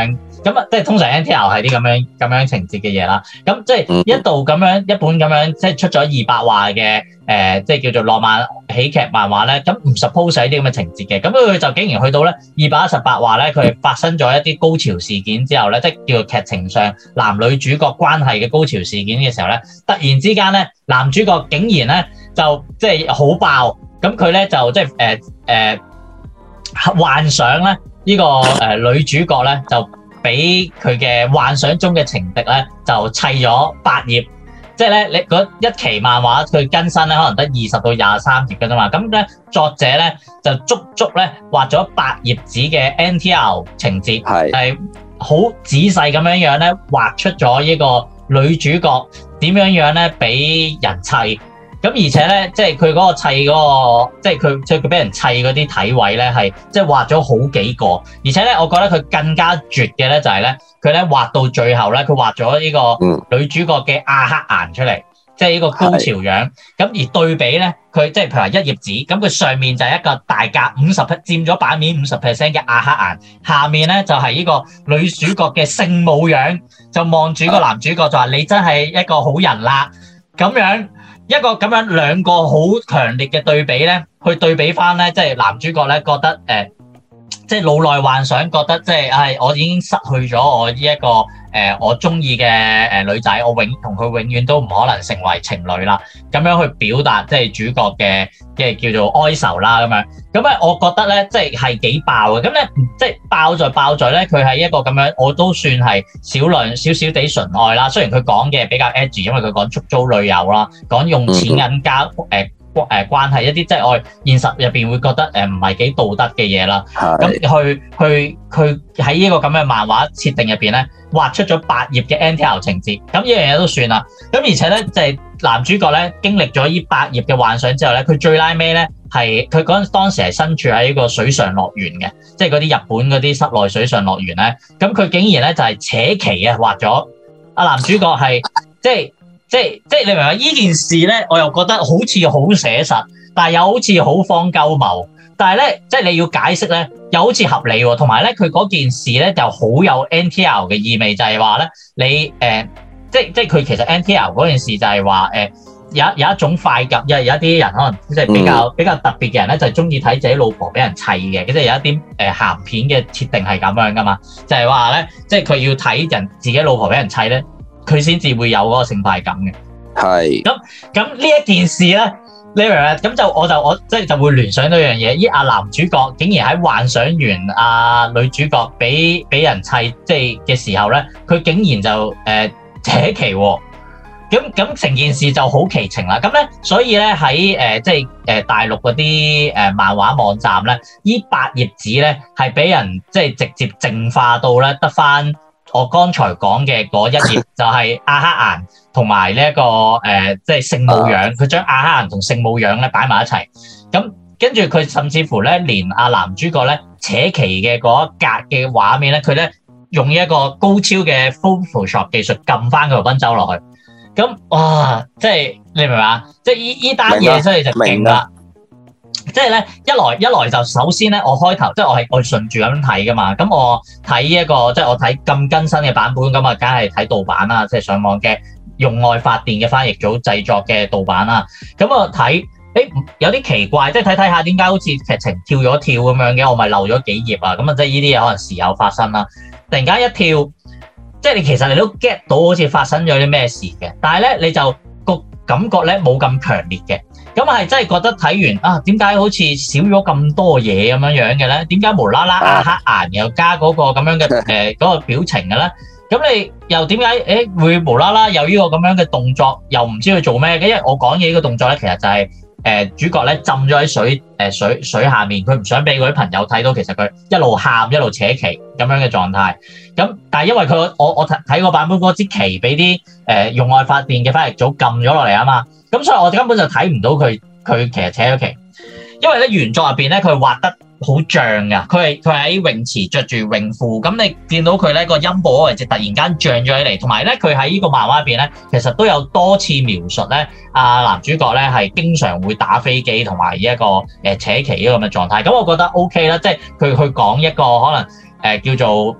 咁啊，即係通常 N T L 係啲咁樣咁樣情節嘅嘢啦。咁即係一度咁樣一本咁樣即係出咗二百話嘅誒，即係叫做浪漫喜劇漫畫咧。咁唔 suppose 係啲咁嘅情節嘅。咁佢就竟然去到咧二百一十八話咧，佢發生咗一啲高潮事件之後咧，即係叫做劇情上男女主角關係嘅高潮事件嘅時候咧，突然之間咧男主角竟然咧就即係好爆。咁佢咧就即係誒誒幻想咧呢個誒、呃、女主角咧就俾佢嘅幻想中嘅情敵咧就砌咗八頁，即係咧你嗰一期漫畫佢更新咧可能得二十到廿三頁嘅啫嘛，咁咧作者咧就足足咧畫咗八頁紙嘅 N T R 情節，係係好仔細咁樣樣咧畫出咗呢個女主角點樣樣咧俾人砌。咁而且咧，即係佢嗰個砌嗰、嗰個，即係佢即係佢俾人砌嗰啲體位咧，係即係畫咗好幾個。而且咧，我覺得佢更加絕嘅咧，就係咧，佢咧畫到最後咧，佢畫咗呢個女主角嘅亞黑顏出嚟，即係呢個高潮樣。咁而對比咧，佢即係譬如話一頁紙，咁佢上面就係一個大格五十佔咗版面五十 percent 嘅亞黑顏，下面咧就係呢個女主角嘅聖母樣，就望住個男主角就話：你真係一個好人啦，咁樣。一個咁樣兩個好強烈嘅對比咧，去對比翻咧，即係男主角咧覺得誒、呃，即係腦內幻想，覺得即係係我已經失去咗我呢、這、一個誒、呃、我中意嘅誒女仔，我永同佢永遠都唔可能成為情侶啦。咁樣去表達即係主角嘅嘅叫做哀愁啦咁樣。咁咧，我覺得咧即係係幾爆嘅。咁咧即係爆在爆在咧，佢係一個咁樣，我都算係少量少少地純愛啦。雖然佢講嘅比較 edgy，因為佢講出租女友啦，講用錢銀交誒。呃誒關係一啲即係我現實入邊會覺得誒唔係幾道德嘅嘢啦，咁去去去喺呢個咁嘅漫畫設定入邊咧畫出咗八頁嘅 N T L 情節，咁呢樣嘢都算啦。咁而且咧就係、是、男主角咧經歷咗呢八頁嘅幻想之後咧，佢最拉尾咧係佢嗰陣當時係身處喺呢個水上樂園嘅，即係嗰啲日本嗰啲室內水上樂園咧，咁佢竟然咧就係、是、扯旗啊畫咗阿男主角係即係。即係即係你明白呢件事咧，我又覺得好似好寫實，但係又好似好荒鳩謬。但係咧，即係你要解釋咧，又好似合理喎。同埋咧，佢嗰件事咧就好有 N T R 嘅意味，就係話咧，你誒、呃，即係即係佢其實 N T R 嗰件事就係話誒，有有一種快感，有有一啲人可能即係比較、嗯、比較特別嘅人咧，就係中意睇自己老婆俾人砌嘅，即係有一啲誒鹹片嘅設定係咁樣噶嘛，就係話咧，即係佢要睇人自己老婆俾人砌咧。佢先至會有嗰個性快感嘅，係咁咁呢一件事咧，你明唔明？咁就我就我即係就會聯想到一樣嘢，依阿男主角竟然喺幻想完阿女主角俾俾人砌即係嘅時候咧，佢竟然就誒、呃、扯旗喎，咁咁成件事就好奇情啦。咁咧，所以咧喺誒即係誒大陸嗰啲誒漫畫網站咧，依八頁紙咧係俾人即係直接淨化到咧得返。我剛才講嘅嗰一頁就係亞黑顏同埋呢一個誒，即係聖母樣，佢將亞黑顏同聖母樣咧擺埋一齊。咁跟住佢甚至乎咧，連阿男主角咧扯旗嘅嗰一格嘅畫面咧，佢咧用一個高超嘅 Photoshop 技術撳翻佢個賓州落去。咁哇，即係你明唔明啊？即係依依單嘢真係就勁啦！即係咧，一來一來就首先咧，我開頭即係我係我順住咁睇噶嘛，咁我睇一個即係我睇咁更新嘅版本，咁啊梗係睇盜版啦，即係上網嘅用愛發電嘅翻譯組製作嘅盜版啦，咁我睇，誒有啲奇怪，即係睇睇下點解好似劇情跳咗跳咁樣嘅，我咪漏咗幾頁啊，咁啊即係呢啲嘢可能時有發生啦，突然間一跳，即係你其實你都 get 到好似發生咗啲咩事嘅，但係咧你就個感覺咧冇咁強烈嘅。咁係真係覺得睇完啊，點解好似少咗咁多嘢咁樣樣嘅咧？點解無啦啦亞黑顏又加嗰個咁樣嘅誒嗰個表情嘅咧？咁你又點解誒會無啦啦有呢個咁樣嘅動作，又唔知佢做咩嘅？因為我講嘅呢個動作咧，其實就係、是、誒、呃、主角咧浸咗喺水誒、呃、水水下面，佢唔想俾嗰啲朋友睇到，其實佢一路喊一路扯旗咁樣嘅狀態。咁但係因為佢我我睇個版本嗰支旗俾啲誒用愛發電嘅翻譯組撳咗落嚟啊嘛。咁所以我根本就睇唔到佢佢其實扯咗旗，因為咧原作入邊咧佢畫得好脹噶，佢係佢喺泳池着住泳褲，咁你見到佢咧個陰部位置突然間脹咗起嚟，同埋咧佢喺呢個漫畫入邊咧，其實都有多次描述咧，阿男主角咧係經常會打飛機同埋一個誒扯旗呢個咁嘅狀態，咁我覺得 O K 啦，即係佢去講一個可能誒、呃、叫做。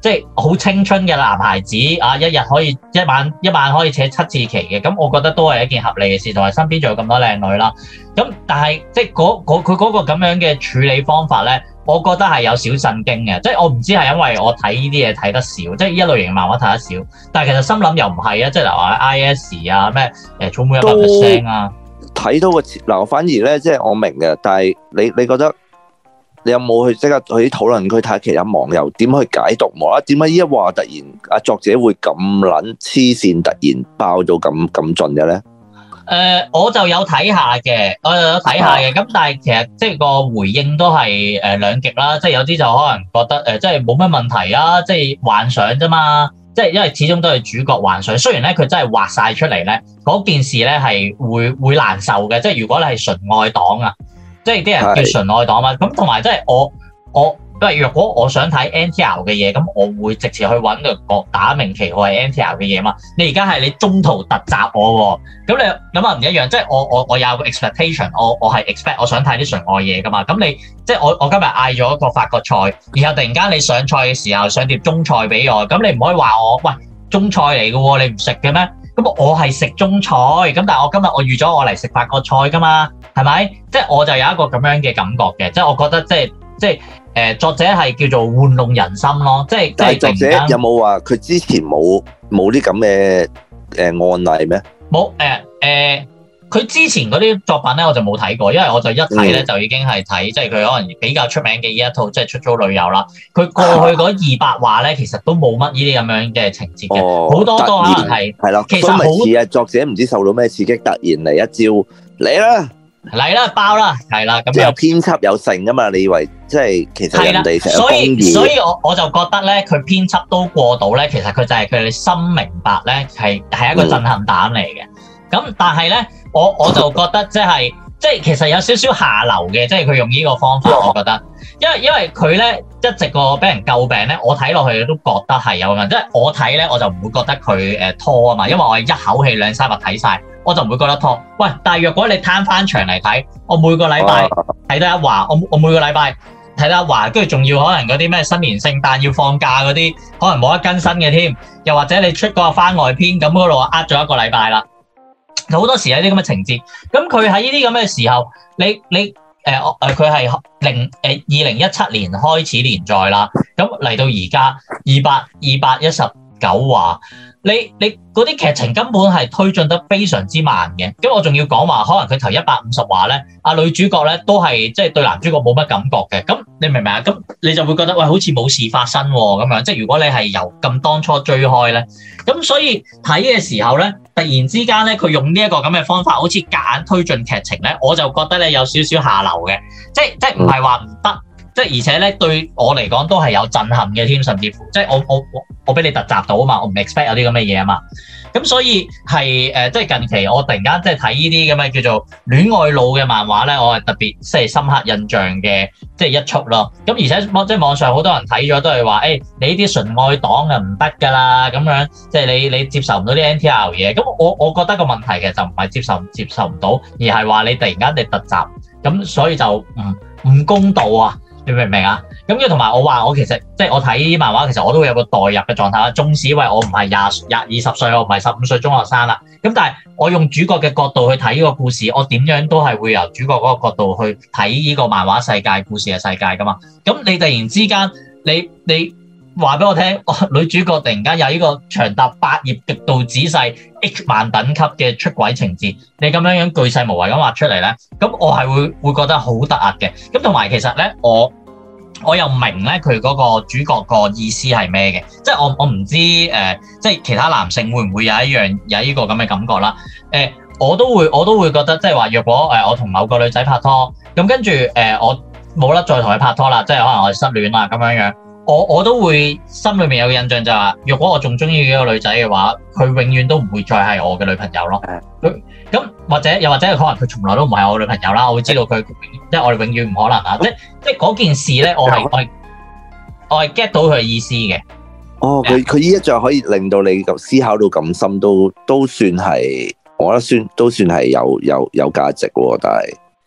即係好青春嘅男孩子啊，一日可以一晚一晚可以扯七次旗嘅，咁我覺得都係一件合理嘅事，同埋身邊仲有咁多靚女啦。咁但係即係嗰嗰佢嗰個咁樣嘅處理方法咧，我覺得係有少震驚嘅。即係我唔知係因為我睇呢啲嘢睇得少，即係呢一類型漫畫睇得少。但係其實心諗又唔係啊，即係例如話 I S 啊咩誒草莓一百 percent 啊，睇到個嗱，我反而咧即係我明嘅，但係你你覺得？你有冇去即刻去啲討論區睇下其他網友點去解讀？冇啦，點解呢一話突然阿作者會咁撚黐線，突然爆到咁咁盡嘅咧？誒、 呃，我就有睇下嘅，我就有睇下嘅。咁、啊、但係其實即係個回應都係誒兩極啦。即係有啲就可能覺得誒、呃，即係冇乜問題啊，即係幻想啫嘛。即係因為始終都係主角幻想，雖然咧佢真係畫晒出嚟咧，嗰件事咧係會會難受嘅。即係如果你係純愛黨啊。即係啲人叫純愛黨嘛，咁同埋即係我我，因為若果我想睇 N T R 嘅嘢，咁我會直接去揾個角打明旗號係 N T R 嘅嘢嘛。你而家係你中途突襲我喎，咁你咁啊唔一樣。即係我我我有個 expectation，我我係 expect 我想睇啲純愛嘢噶嘛。咁你即係我我今日嗌咗一個法國菜，然後突然間你上菜嘅時候上碟中菜俾我，咁你唔可以話我喂中菜嚟嘅喎，你唔食嘅咩？咁我係食中菜，咁但係我今日我預咗我嚟食法國菜噶嘛，係咪？即係我就有一個咁樣嘅感覺嘅，即係我覺得即係即係誒作者係叫做玩弄人心咯，即係。但係作者有冇話佢之前冇冇啲咁嘅誒案例咩？冇誒誒。呃呃佢之前嗰啲作品咧，我就冇睇過，因為我就一睇咧就已經係睇，即係佢可能比較出名嘅呢一套，即係出租女友啦。佢過去嗰二百話咧，其實都冇乜呢啲咁樣嘅情節嘅，好、哦、多都可能係係啦。其實好似啊，作者唔知受到咩刺激，突然嚟一招嚟啦，嚟啦爆啦，係啦咁。即係有編輯有成噶嘛？你以為即係其實人哋成日公義？所以所以我我就覺得咧，佢編輯都過到咧，其實佢就係佢哋心明白咧，係係一個震撼彈嚟嘅。咁、嗯、但係咧。我我就覺得即係即係其實有少少下流嘅，即係佢用呢個方法，我覺得，因為因為佢咧一直個俾人詬病咧，我睇落去都覺得係有問題，即係我睇咧我就唔會覺得佢誒拖啊嘛，因為我係一口氣兩三日睇晒，我就唔會覺得拖。喂，但係若果你攤翻長嚟睇，我每個禮拜睇得一話，我我每個禮拜睇得一話，跟住仲要可能嗰啲咩新年聖誕要放假嗰啲，可能冇得更新嘅添，又或者你出個番外篇咁嗰度呃咗一個禮拜啦。好多時有啲咁嘅情節，咁佢喺呢啲咁嘅時候，你你誒誒佢係零誒二零一七年開始連載啦，咁嚟到而家二百二百一十九話，你你嗰啲劇情根本係推進得非常之慢嘅，咁我仲要講話，可能佢頭一百五十話咧，啊女主角咧都係即係對男主角冇乜感覺嘅，咁你明唔明啊？咁你就會覺得喂，好似冇事發生喎咁樣，即係如果你係由咁當初追開咧，咁所以睇嘅時候咧。突然之間咧，佢用呢一個咁嘅方法，好似夾硬推進劇情咧，我就覺得咧有少少下流嘅，即係即係唔係話唔得，即係而且咧對我嚟講都係有震撼嘅添，甚至乎即係我我我我俾你突襲到啊嘛，我唔 expect 有啲咁嘅嘢啊嘛，咁所以係誒、呃、即係近期我突然間即係睇呢啲咁嘅叫做戀愛腦嘅漫畫咧，我係特別即係深刻印象嘅即係一出咯。咁而且即係網上好多人睇咗都係話誒，你呢啲純愛黨啊唔得㗎啦，咁樣即係你你接受唔到啲 N T R 嘢。咁我我覺得個問題其實就唔係接受唔接受唔到，而係話你突然間你突襲，咁所以就唔唔公道啊！你明唔明啊？咁跟同埋我話我其實即係我睇漫畫，其實我都會有個代入嘅狀態啦。縱使為我唔係廿廿二十歲，我唔係十五歲中學生啦。咁但係我用主角嘅角度去睇呢個故事，我點樣都係會由主角嗰個角度去睇呢個漫畫世界、故事嘅世界噶嘛。咁你突然之間，你你話俾我聽，女主角突然間有呢個長達八頁、極度仔細、H 漫等級嘅出軌情節，你咁樣樣巨細無遺咁畫出嚟咧，咁我係會會覺得好突兀嘅。咁同埋其實咧，我我又明咧佢嗰個主角個意思係咩嘅，即係我我唔知誒、呃，即係其他男性會唔會有一樣有呢個咁嘅感覺啦？誒、呃，我都會我都會覺得，即係話若果誒、呃、我同某個女仔拍拖，咁跟住誒、呃、我冇得再同佢拍拖啦，即係可能我哋失戀啦咁樣樣。我我都會心裏面有個印象就係話，若果我仲中意呢個女仔嘅話，佢永遠都唔會再係我嘅女朋友咯。佢咁或者又或者可能佢從來都唔係我女朋友啦。我會知道佢即係我哋永遠唔可能啦。即即係嗰件事咧，我係我係我係 get 到佢嘅意思嘅。哦，佢佢呢一仗可以令到你思考到咁深，都都算係我覺得算都算係有有有價值喎。但係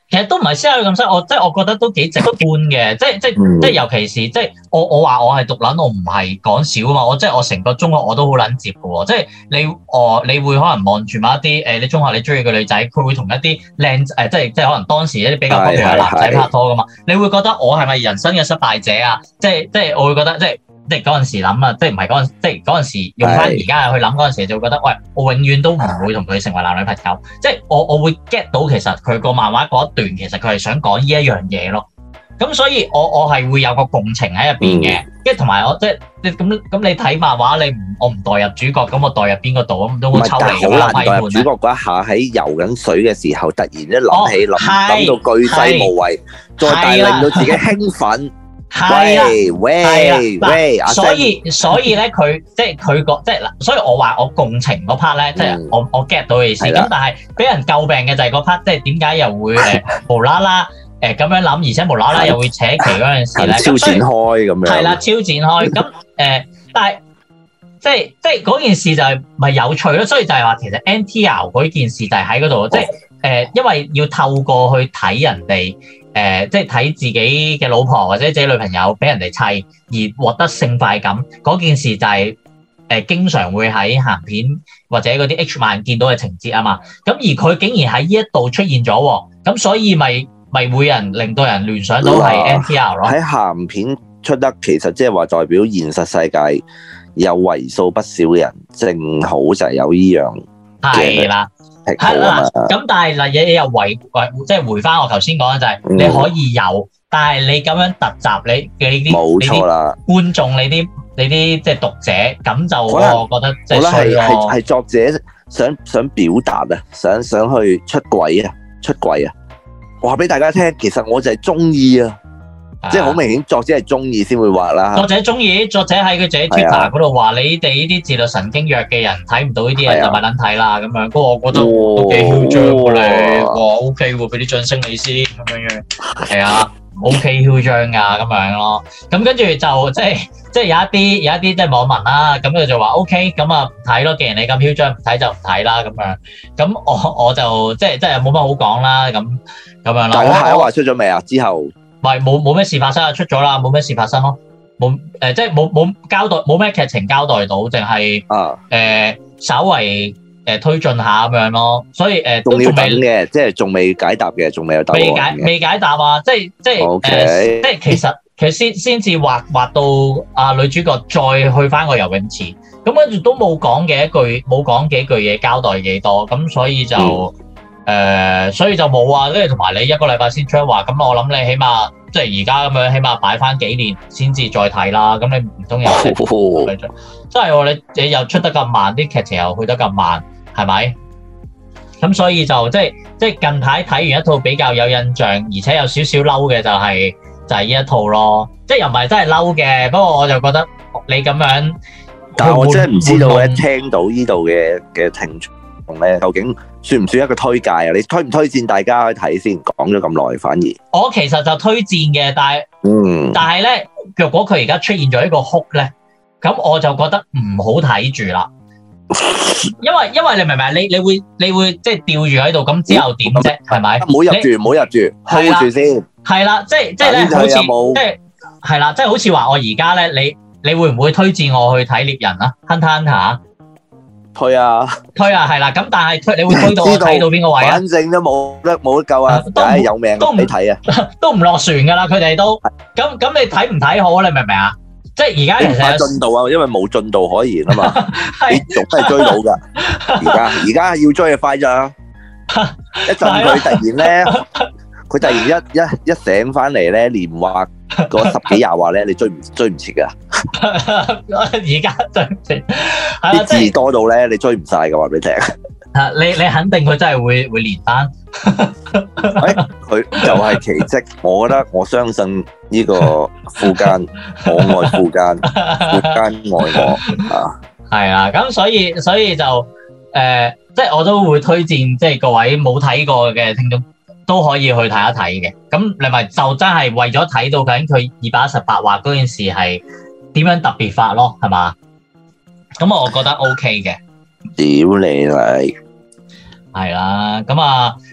其實都唔係私下咁犀，我即係我覺得都幾直觀嘅，即係即係即係尤其是即係我我話我係毒撚，我唔係講笑啊嘛，我即係我成個中學我都好撚接嘅喎，即係你哦你會可能望住某一啲誒你中學你中意嘅女仔，佢會同一啲靚誒即係即係可能當時一啲比較 popular 嘅男仔拍拖噶嘛，你會覺得我係咪人生嘅失敗者啊？即係即係我會覺得即係。即係嗰陣時諗啊，即係唔係嗰陣，即係嗰陣時用翻而家去諗嗰陣時，就會覺得喂，我永遠都唔會同佢成為男女朋友。即係我我會 get 到其實佢個漫畫嗰一段，其實佢係想講呢一樣嘢咯。咁所以我我係會有個共情喺入邊嘅，跟住同埋我即係你咁咁你睇漫畫，你唔我唔代入主角，咁我代入邊個度咁都好抽離㗎嘛。好難代入主角嗰一下喺游緊水嘅時候，突然一諗起諗諗到巨細無遺，再大令到自己興奮。係啊，喂喂， 所以所以咧，佢即係佢個即係嗱，所以我話我共情嗰 part 咧，即係我我 get 到嘅意思。咁但係俾人詬病嘅就係嗰 part，即係點解又會誒無啦啦誒咁樣諗，而且無啦啦又會扯旗嗰陣時咧， 超展開咁樣。係啦， 超展開。咁誒，但係即係即係嗰件事就係咪有趣咯？所以就係話其實 N T R 嗰件事就係喺嗰度，即係誒，因為要透過去睇人哋。誒、呃，即係睇自己嘅老婆或者自己女朋友俾人哋砌而獲得性快感嗰件事就係、是、誒、呃、經常會喺鹹片或者嗰啲 H 漫見到嘅情節啊嘛。咁而佢竟然喺呢一度出現咗，咁所以咪咪會人令到人聯想到係 N T R 咯。 喺鹹片出得其實即係話代表現實世界有為數不少嘅人正好就係有依樣係啦。係啦，咁但係嗱嘢又回回即係回翻我頭先講嘅就係你可以有，嗯、但係你咁樣突襲你嘅啲冇錯啦，觀眾你啲你啲即係讀者咁就我覺得即係衰咯。係係作者想想表達啊，想想去出軌啊，出軌啊，話俾大家聽，其實我就係中意啊。即係好明顯，作者係中意先會畫啦。 作者中意，作者喺佢自己 Twitter 嗰度話：你哋呢啲自律神經弱嘅人睇唔到呢啲嘢，就咪撚睇啦咁樣。不過我覺得都幾囂張喎你，哇 OK 喎，俾啲掌聲你先咁樣樣。係啊 ，OK 囂張㗎咁樣咯。咁跟住就即係即係有一啲有一啲即係網民啦，咁佢就話 OK，咁啊唔睇咯。既然你咁囂張，唔睇就唔睇啦咁樣。咁我我就即係即係冇乜好講啦。咁咁樣啦。 但係下一話出咗未啊？之後？ 唔係冇冇咩事發生啊，出咗啦，冇咩事發生咯，冇誒、呃、即係冇冇交代，冇咩劇情交代到，淨係誒稍為誒、呃、推進下咁樣咯，所以誒、呃、都仲未嘅，即係仲未解答嘅，仲未有答案嘅。 未解未解答啊！即係即係誒 Okay.、 呃，即係其實其實先先至畫畫到啊女主角再去翻個游泳池，咁跟住都冇講嘅一句，冇講幾句嘢交代幾多，咁所以就。嗯誒、呃，所以就冇啊，跟住同埋你一個禮拜先出話，咁我諗你起碼即係而家咁樣，起碼擺翻幾年先至再睇啦。咁你唔通又即係喎？你你又出得咁慢，啲劇情又去得咁慢，係咪？咁所以就即係即係近排睇完一套比較有印象，而且有少少嬲嘅就係、是、就係、是、呢一套咯。即係又唔係真係嬲嘅，不過我就覺得你咁樣， 但係我真係唔知道咧，聽到呢度嘅嘅聽眾咧，究竟算唔算一個推介啊？你推唔推薦大家去睇先？講咗咁耐，反而我其實就推薦嘅，但係，嗯，但係咧，若果佢而家出現咗一個 hook 咧，咁我就覺得唔好睇住啦。因為因為你明唔明？你你會你會即係吊住喺度，咁之後點啫？係咪？ 唔好入住，唔好入住，hold住先。 係啦，即係即係咧，好似即係係啦，即係好似話我而家咧，你你會唔會推薦我去睇獵人啊 ？Hunter Hunter。 推啊， 推啊，係啦，咁但係推你會推到我睇到邊個位啊？ 反正都冇得冇得救啊，都係有命都唔睇啊，都唔落船噶啦，佢哋都咁咁，你睇唔睇好？你明唔明啊？即係而家其實進度啊，因為冇進度可言啊嘛，你仲都係追到噶。而家而家要追就快咋，一陣佢突然咧，佢突然一一一醒翻嚟咧，連畫嗰十幾廿話咧，你追唔追唔切噶？ 而家追唔切， 啲字多到咧，你追唔晒噶，話俾你聽。 啊，你你肯定佢真係會會連翻。 佢就係奇蹟，我覺得我相信呢個富奸，我愛富奸，富奸愛我啊。係啊，咁所以所以就誒、呃，即係我都會推薦，即係各位冇睇過嘅聽眾都可以去睇一睇嘅。咁你咪就真係為咗睇到究竟佢二百一十八話嗰件事係點樣特別法咯，係嘛？咁我覺得 OK 嘅。 屌你嚟！ 係啦，咁啊，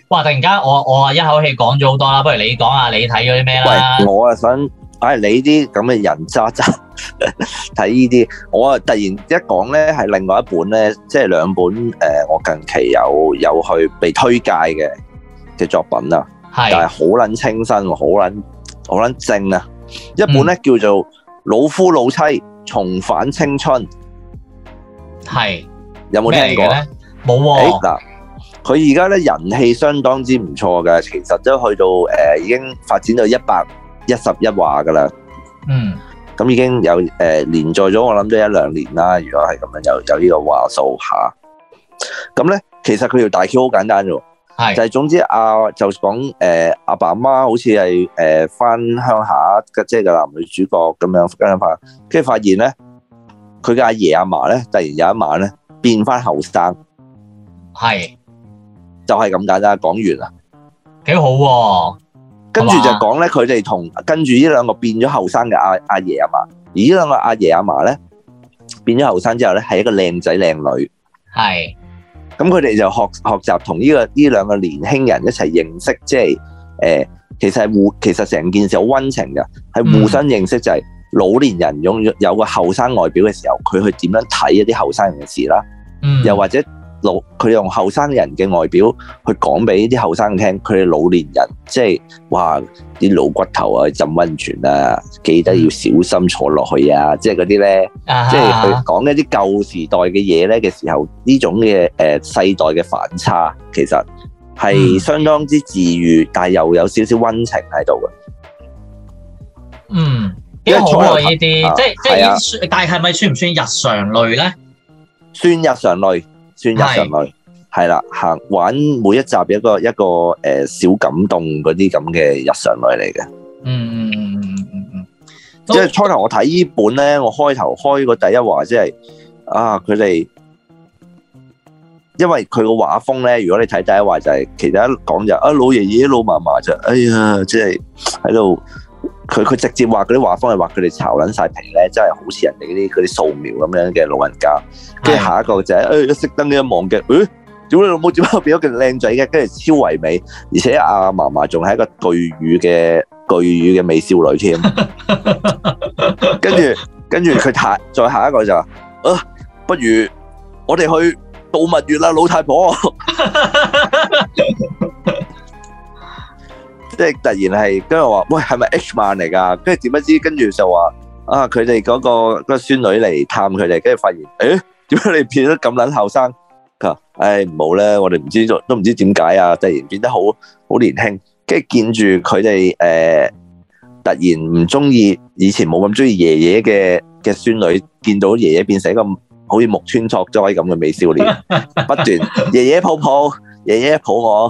哇！突然間我我一口氣講咗好多啦，不如你講下你睇咗啲咩啦？ 喂，我啊想，唉，你啲咁嘅人渣渣睇呢啲，我啊突然一講咧係另外一本咧，即係兩本誒、呃，我近期有有去被推介嘅嘅作品啊，係，但係好撚清新，好撚好撚正啊！一本咧、嗯、叫做《老夫老妻重返青春》，係有冇聽過？ 冇喎。嗱， 佢而家咧人氣相當之唔錯嘅，其實都去到誒、呃、已經發展到一百一十一話噶啦。嗯，咁已經有誒、呃、連載咗，我諗都一兩年啦。如果係咁樣，有有呢個話數下。咁咧，其實佢條大橋好簡單啫，係就係總之啊，就講誒阿爸阿媽好似係誒翻鄉下嘅，即係個男女主角咁樣跟翻，跟住發現咧，佢嘅阿爺阿嫲咧，突然有一晚咧變翻後生。係，就係咁簡單，講完啦， 幾好喎。 跟住就講咧，佢哋同跟住呢兩個變咗後生嘅阿阿爺阿嫲，而呢兩個阿爺阿嫲咧變咗後生之後咧，係一個靚仔靚女。係，咁佢哋就學學習同呢個呢兩個年輕人一齊認識，即係誒，其實係互，其實成件事好溫情嘅，係互相認識，就係老年人擁有有個後生外表嘅時候，佢去點樣睇一啲後生人嘅事啦。嗯，又或者。老佢用後生人嘅外表去講俾啲後生聽，佢哋老年人即係哇啲老骨頭啊，浸溫泉啊，記得要小心坐落去啊，即係嗰啲咧，即係佢講一啲舊時代嘅嘢咧嘅時候，呢種嘅誒世代嘅反差，其實係相當之治癒，但係又有少少溫情喺度嘅。 嗯，幾好啊！呢啲即係即係，但係係咪算唔算日常類咧？ 算日常類。算日常類，係啦，行玩每一集一個一個誒、呃、小感動嗰啲咁嘅日常類嚟嘅。嗯嗯嗯嗯嗯嗯。即係初頭我睇呢本咧，我開頭開個第一話，即係啊佢哋，因為佢個畫風咧，如果你睇第一話就係、是，其實一講就啊老爺爺老嫲嫲就，哎呀，即係喺度。佢佢直接話嗰啲畫風係話佢哋巢撚晒皮咧，真係好似人哋嗰啲嗰啲素描咁樣嘅老人家。跟住下一個就係、是、誒、哎、一熄燈呢一望嘅，誒屌你老母點解變咗個靚仔嘅？跟住超唯美，而且阿嫲嫲仲係一個巨乳嘅巨乳嘅美少女添。跟住跟住佢下再下一個就話啊，不如我哋去度蜜月啦，老太婆。即係突然係跟住話，喂係咪 H 漫嚟㗎？跟住點不知，跟住就話啊，佢哋嗰個嗰個孫女嚟探佢哋，跟住發現，誒點解你變得咁撚後生？佢話：唉唔好咧，我哋唔知都唔知點解啊！突然變得好好年輕，跟住見住佢哋誒，突然唔中意以前冇咁中意爺爺嘅嘅孫女，見到爺爺變成一個好似木村拓哉咁嘅美少年，不斷爺爺抱抱，爺爺抱我。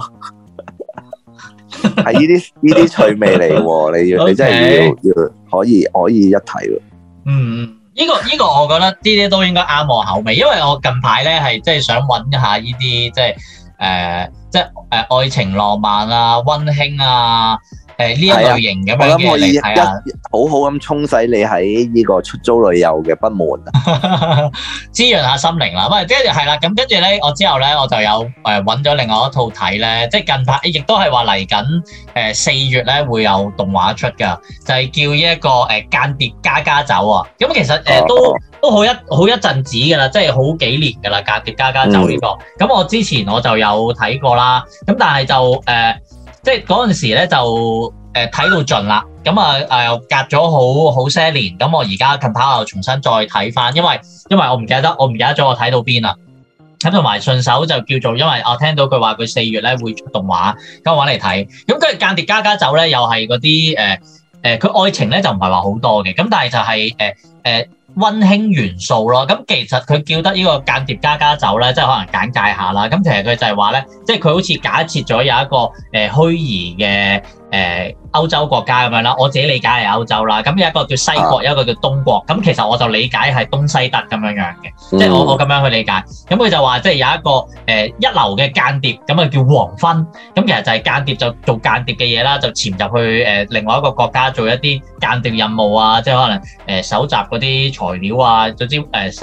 係呢啲呢啲趣味嚟喎，你要 Okay. 你真係要要可以可以一睇喎。 嗯，呢、這個呢、這個我覺得呢啲都應該啱我口味，因為我近排咧係即係想揾一下呢啲即係誒即係誒、呃、愛情浪漫啊、溫馨啊。誒呢一類型咁樣嘅嚟睇啊， 好好咁沖洗你喺呢個出租旅遊嘅不滿啊， 滋潤下心靈啦。咁跟住係啦，咁跟住咧，我之後咧我就有誒揾咗另外一套睇咧，即係近排亦都係話嚟緊誒四月咧會有動畫出㗎，就係、是、叫呢一個誒間諜家家酒啊。咁其實誒、呃、都都好一好一陣子㗎啦，即係好幾年㗎啦，間諜家家酒呢、這個。咁、嗯、我之前我就有睇過啦，咁但係就誒。呃即係嗰陣時咧就誒睇到盡啦，咁啊誒又隔咗好好些年，咁我而家近排又重新再睇翻，因為因為我唔記得我唔記得咗我睇到邊啦，咁同埋順手就叫做因為我聽到佢話佢四月咧會出動畫，咁我揾嚟睇，咁跟住間諜家家酒咧又係嗰啲誒誒佢愛情咧就唔係話好多嘅，咁但係就係誒誒溫馨元素咯，咁其實佢叫得呢個間諜家家酒咧，即係可能簡介下啦。咁其實佢就係話咧，即係佢好似假設咗有一個誒、呃、虛擬嘅誒、呃、歐洲國家咁樣啦。我自己理解係歐洲啦。咁有一個叫西國，有一個叫東國。咁其實我就理解係東西德咁樣樣嘅，即係我我咁樣去理解。咁佢就話即係有一個誒、呃、一流嘅間諜，咁啊叫黃昏。咁其實就係間諜就做間諜嘅嘢啦，就潛入去誒、呃、另外一個國家做一啲間諜任務啊，即係可能誒搜集嗰啲材料啊，總之誒、呃、即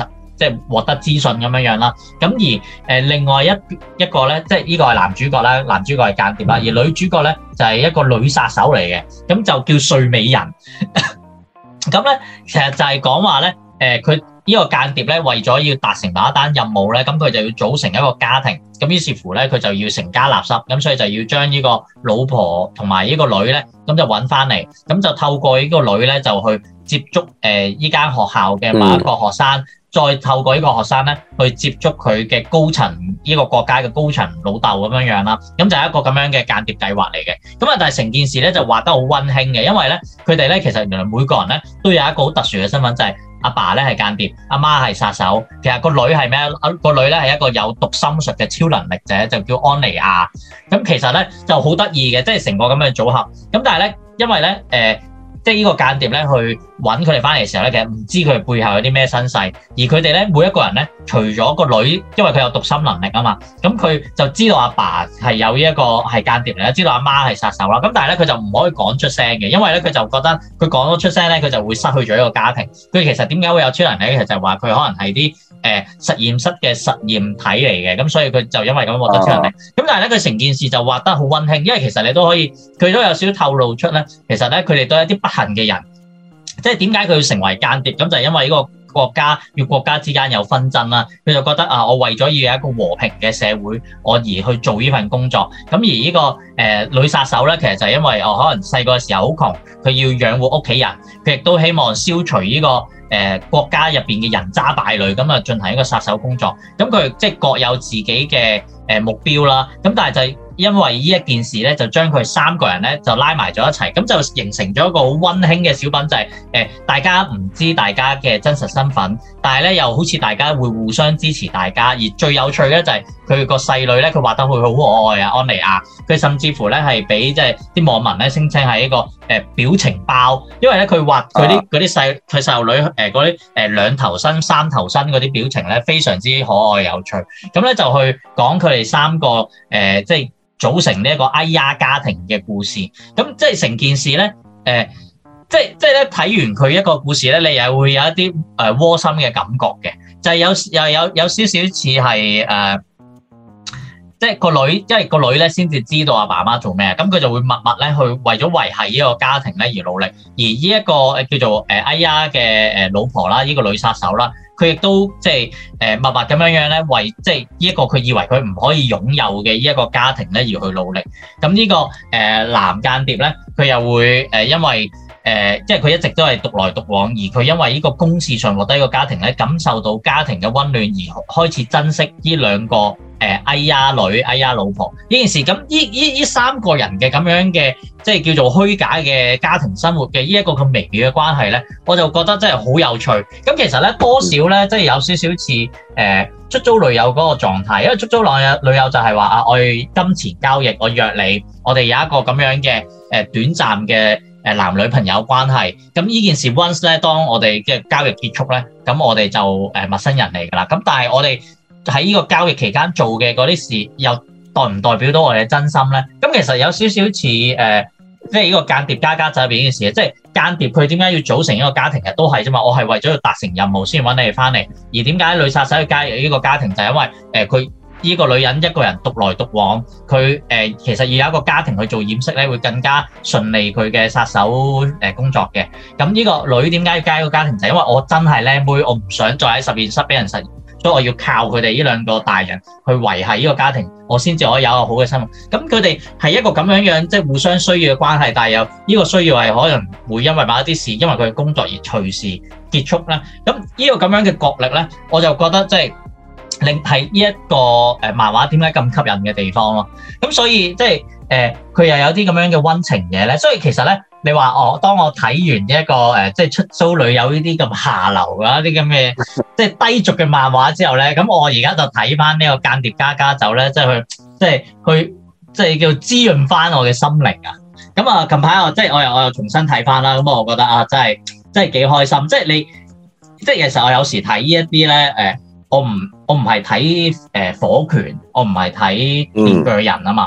即係獲得資訊咁樣樣啦。咁而誒、呃、另外一一個咧，即係呢個係男主角啦，男主角係間諜啦，而女主角咧就係、是、一個女殺手嚟嘅，咁就叫睡美人。咁咧其實就係講話咧，誒佢呢個間諜咧為咗要達成某一單任務咧，咁佢就要組成一個家庭。咁於是乎咧，佢就要成家立室，咁所以就要將呢個老婆同埋呢個女咧，咁就揾翻嚟，咁就透過呢個女咧就去接觸誒依間學校嘅某一個學生，嗯、再透過呢個學生咧去接觸佢嘅高層呢、呢個國家嘅高層老豆咁樣樣啦，咁就係一個咁樣嘅間諜計劃嚟嘅。咁啊，但係成件事咧就畫得好溫馨嘅，因為咧佢哋咧其實原來每個人咧都有一個好特殊嘅身份，就係、是。阿爸咧係間諜，阿媽係殺手。其實個女係咩？個女咧係一個有讀心術嘅超能力者，就叫安妮亞。咁其實咧就好得意嘅，即係成個咁嘅組合。咁但係咧，因為咧誒、呃，即係呢個間諜咧去揾佢哋翻嚟嘅時候咧，其實唔知佢哋背後有啲咩身世。而佢哋咧每一個人咧，除咗個女，因為佢有讀心能力啊嘛，咁佢就知道阿爸係有呢一個係間諜嚟啦，知道阿媽係殺手啦。咁但係咧佢就唔可以講出聲嘅，因為咧佢就覺得佢講咗出聲咧，佢就會失去咗一個家庭。佢其實點解會有超能力咧？其實就係話佢可能係啲誒實驗室嘅實驗體嚟嘅，咁所以佢就因為咁獲得超能力。咁、啊、但係咧佢成件事就畫得好溫馨，因為其實你都可以，佢都有少少透露出咧，其實咧佢哋都係一啲不幸嘅人。即係點解佢要成為間諜？咁就係因為呢個國家與國家之間有紛爭啦。佢就覺得啊，我為咗要有一個和平嘅社會，我而去做呢份工作。咁而呢、這個誒、呃、女殺手咧，其實就係因為我、哦、可能細個嘅時候好窮，佢要養活屋企人，佢亦都希望消除呢、這個誒、呃、國家入邊嘅人渣敗類，咁啊進行一個殺手工作。咁佢即係各有自己嘅誒、呃、目標啦。咁但係就係、是。因為呢一件事咧，就將佢三個人咧就拉埋咗一齊，咁就形成咗一個好溫馨嘅小品，就係、是、誒、呃、大家唔知大家嘅真實身份，但係咧又好似大家會互相支持大家。而最有趣咧就係佢個細女咧，佢畫得佢好可愛啊，安妮亞。佢甚至乎咧係俾即係啲網民咧聲稱係一個誒、呃、表情包，因為咧佢畫佢啲嗰啲細佢細路女誒嗰啲誒兩頭身三頭身嗰啲表情咧非常之可愛有趣。咁咧就去講佢哋三個誒、呃、即係。組成呢一個哎呀家庭嘅故事，咁即係成件事咧，誒、呃，即係即係咧睇完佢一個故事咧，你又會有一啲誒窩心嘅感覺嘅，就係、是、有又有有少少似係誒，即係個女，因為個女咧先至知道阿爸媽做咩，咁佢就會默默咧去為咗維繫呢個家庭咧而努力，而呢一個誒叫做誒哎呀嘅誒老婆啦，呢、這個女殺手啦。佢亦都即係誒默默咁樣樣咧，為即係呢一個佢以為佢唔可以擁有嘅呢一個家庭咧而去努力。咁呢、這個誒、呃、男間諜咧，佢又會誒、呃、因為誒、呃、即係佢一直都係獨來獨往，而佢因為呢個公事上獲得一個家庭咧，感受到家庭嘅溫暖而開始珍惜呢兩個誒哎呀女、哎呀老婆呢件事。咁呢呢呢三個人嘅咁樣嘅即係叫做虛假嘅家庭生活嘅呢一個咁微妙嘅關係咧，我就覺得真係好有趣。咁其實咧多少咧即係有少少似誒出租女友嗰個狀態，因為出租女友女友就係話啊，我金錢交易，我約你，我哋有一個咁樣嘅誒短暫嘅誒男女朋友關係。咁呢件事 once 咧，當我哋嘅交易結束咧，咁我哋就誒陌生人嚟㗎啦。咁但係我哋喺呢個交易期間做嘅嗰啲事，又代唔代表到我哋嘅真心咧？咁其實有少少似誒，即係呢個間諜家家酒入邊呢件事，即係間諜佢點解要組成一個家庭嘅？都係啫嘛，我係為咗要達成任務先揾你哋翻嚟。而點解女殺手要加入呢個家庭？就係因為誒佢呢個女人一個人獨來獨往，佢誒、呃、其實要有一個家庭去做掩飾咧，會更加順利佢嘅殺手誒工作嘅。咁呢個女點解要加入一個家庭？就係因為我真係靚妹，我唔想再喺實驗室俾人實驗。所以我要靠佢哋呢兩個大人去維繫呢個家庭，我先至可以有一個好嘅生活。咁佢哋係一個咁樣樣，即係互相需要嘅關係，但係又呢個需要係可能會因為某一啲事，因為佢嘅工作而隨時結束咧。咁呢個咁樣嘅角力咧，我就覺得即係令係呢一個誒漫畫點解咁吸引嘅地方咯。咁所以即係誒佢又有啲咁樣嘅溫情嘢咧。所以其實咧。你話我當我睇完一個誒、呃，即係出租女友呢啲咁下流嘅一啲咁嘅，即係低俗嘅漫畫之後咧，咁我而家就睇翻呢個間諜家家酒咧，即係去，即係去，即係叫滋潤翻我嘅心靈啊！咁啊，近排我即係我又我又重新睇翻啦，咁我覺得啊，真係真係幾開心！即係你，即係其實我有時睇呢一啲咧，誒，我唔我唔係睇誒火拳，我唔係睇面具人啊嘛。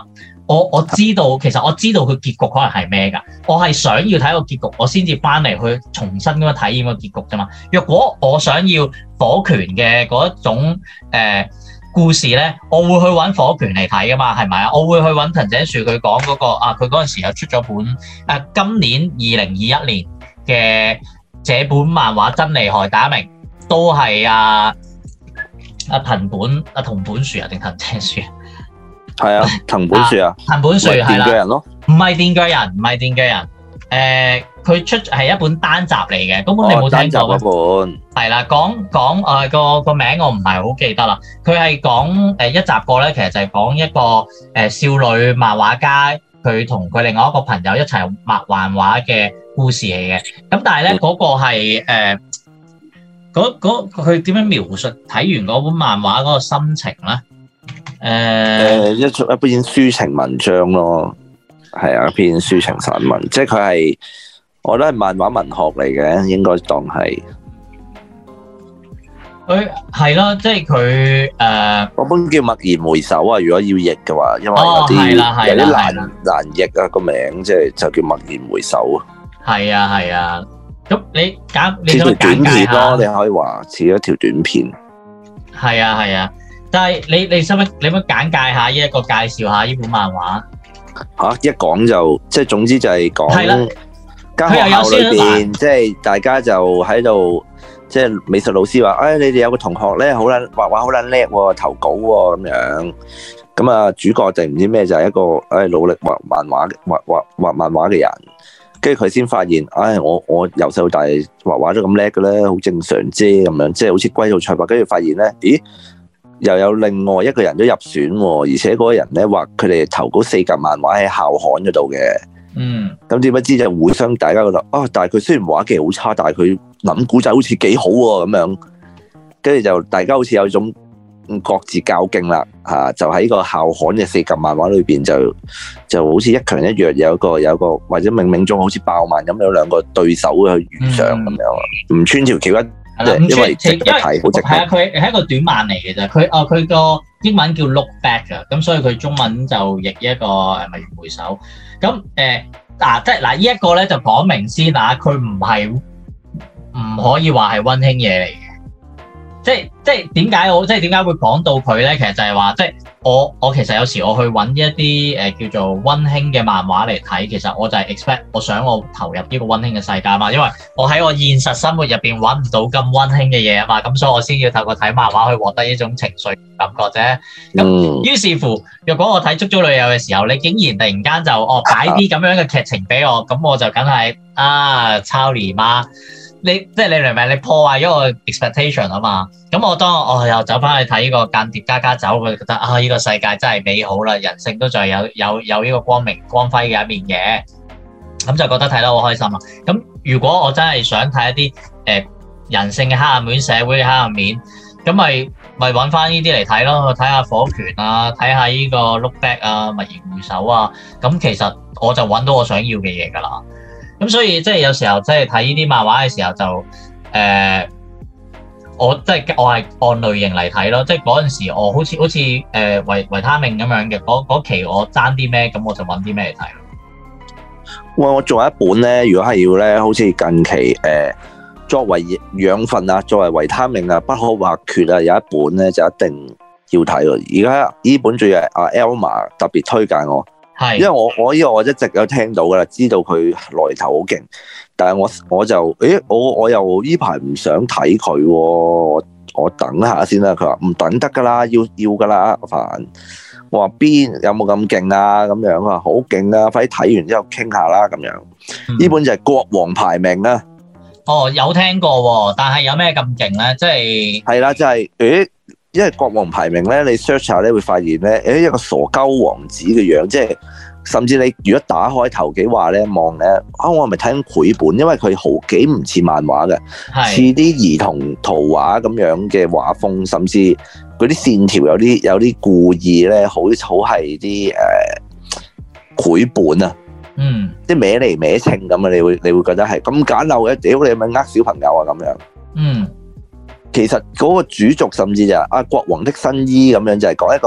我我知道，其實我知道佢結局可能係咩㗎。我係想要睇個結局，我先至翻嚟去重新咁樣體驗個結局啫嘛。若果我想要火拳嘅嗰一種誒、呃、故事咧，我會去揾火拳嚟睇㗎嘛，係咪啊？我會去揾藤井樹佢講嗰個啊，佢嗰陣時又出咗本誒、啊、今年二零二一年嘅這本漫畫真厲害打明，都係啊啊藤本啊桐本樹啊定藤井樹啊？ 係啊，藤本樹啊， 藤本樹係啦， 電鋸人咯， 唔係電鋸人，唔係電鋸人，誒、呃，佢出係一本單集嚟嘅，根本你冇聽過嗰本， 係啦，講講誒個個名我唔係好記得啦，佢係講誒一集過咧，其實就係講一個誒、呃、少女漫畫家，佢同佢另外一個朋友一齊畫漫畫嘅故事嚟嘅，咁但係咧嗰個係誒嗰佢點樣描述睇完嗰本漫畫嗰個心情咧？誒、uh, 一出一篇抒情文章咯，係啊，一篇抒情散文，即係佢係，我覺得係漫畫文學嚟嘅，應該當係。佢係咯，即係佢誒，嗰本叫《驀然回首》啊，如果要譯嘅話，因為有啲、哦、有啲難難譯啊個名，即係就叫《驀然回首》啊。係啊係啊，咁你簡你條短片咯，你可以話似一條短片。係啊係啊。但係你你使唔使你可唔可以簡介下呢一個介紹下呢本漫畫嚇、啊？一講就即係總之就係講間學校裏邊，即係大家就喺度，即係美術老師話：，誒、哎、你哋有個同學咧，好撚畫畫好撚叻喎，投稿喎咁樣。咁啊，主角定唔知咩就係一個誒、哎、努力畫漫畫畫畫畫漫畫嘅人。跟住佢先發現，唉、哎，我我由細到大畫畫都咁叻嘅咧，好正常啫咁樣，即係好似龜兔賽跑。跟住發現咧，咦？又有另外一個人都入選喎，而且嗰個人咧畫佢哋投稿四格漫畫喺校刊嗰度嘅。嗯。咁點不知就互相大家覺得啊，但係佢雖然畫技好差，但係佢諗古仔好似幾好喎咁樣。跟住就大家好似有種各自較勁啦嚇，就喺個校刊嘅四格漫畫裏邊就就好似一強一弱，有一個有一個或者冥冥中好似爆漫咁有兩個對手去遇上咁樣，唔穿條橋一。係啦，因為因為係啊，佢係一個短漫嚟嘅啫。佢啊，佢個英文叫 Look Back 啊，咁所以佢中文就譯一個誒驀然回首。咁誒嗱，即係嗱，呢一個咧就講明先啊，佢唔係唔可以話係溫馨嘢嚟嘅。即係即係點解我即係點解會講到佢咧？其實就係話，即係我我其實有時我去揾一啲誒、呃、叫做溫馨嘅漫畫嚟睇，其實我就係 expect 我想我投入呢個溫馨嘅世界嘛，因為我喺我現實生活入邊揾唔到咁溫馨嘅嘢啊嘛，咁所以我先要透過睇漫畫去獲得呢種情緒感覺啫。咁於是乎，若果我睇《足足女友》嘅時候，你竟然突然間就哦擺啲咁樣嘅劇情俾我，咁我就梗係啊抄你媽！你即係你明唔明？你破壞咗我 expectation 啊嘛！咁我當我、哦、又走翻去睇呢個間諜家家酒，我就覺得啊，呢、這個世界真係美好啦，人性都仲係有有有呢個光明光輝嘅一面嘅，咁就覺得睇得好開心啊！咁如果我真係想睇一啲誒、呃、人性嘅黑暗面、社會嘅黑暗面，咁咪咪揾翻呢啲嚟睇咯，睇下火拳啊，睇下呢個 Look Back 啊、驀然回首啊，咁其實我就揾到我想要嘅嘢㗎啦。咁所以即係有時候即係睇呢啲漫畫嘅時候就誒、呃，我即係我係按類型嚟睇咯。即係嗰陣時我好似好似誒維維他命咁樣嘅嗰期我爭啲咩，咁我就揾啲咩嚟睇咯。哇！我仲有一本咧，如果係要咧，好似近期誒、呃、作為養分啊，作為維他命啊，不可或缺啊，有一本咧就一定要睇喎。而家呢本仲係阿 Elma 特別推介我。係，因為我我呢個我一直有聽到噶啦，知道佢來頭好勁，但係我我就誒我我又呢排唔想睇佢，我我等下先啦。佢話唔等得噶啦，要要噶啦，阿凡。我話邊有冇咁勁啊？咁樣啊，好勁啊！快啲睇完之後傾下啦，咁樣。呢、嗯、本就係國王排名啊。哦，有聽過，但係有咩咁勁咧？即係係啦，即係誒。因為國王排名咧，你 search 下咧會發現咧，誒一個傻鳩王子嘅樣，即係甚至你如果打開頭幾話咧望咧，啊我係咪睇緊繪本？因為佢好幾唔似漫畫嘅，似啲兒童圖畫咁樣嘅畫風，甚至嗰啲線條有啲有啲故意咧，好好係啲誒繪本啊，嗯，即係歪嚟歪稱咁啊，你會你會覺得係咁簡陋嘅，屌你係咪呃小朋友啊咁樣，嗯。其實嗰個主軸甚至就係啊國王的新衣咁樣，就係講一個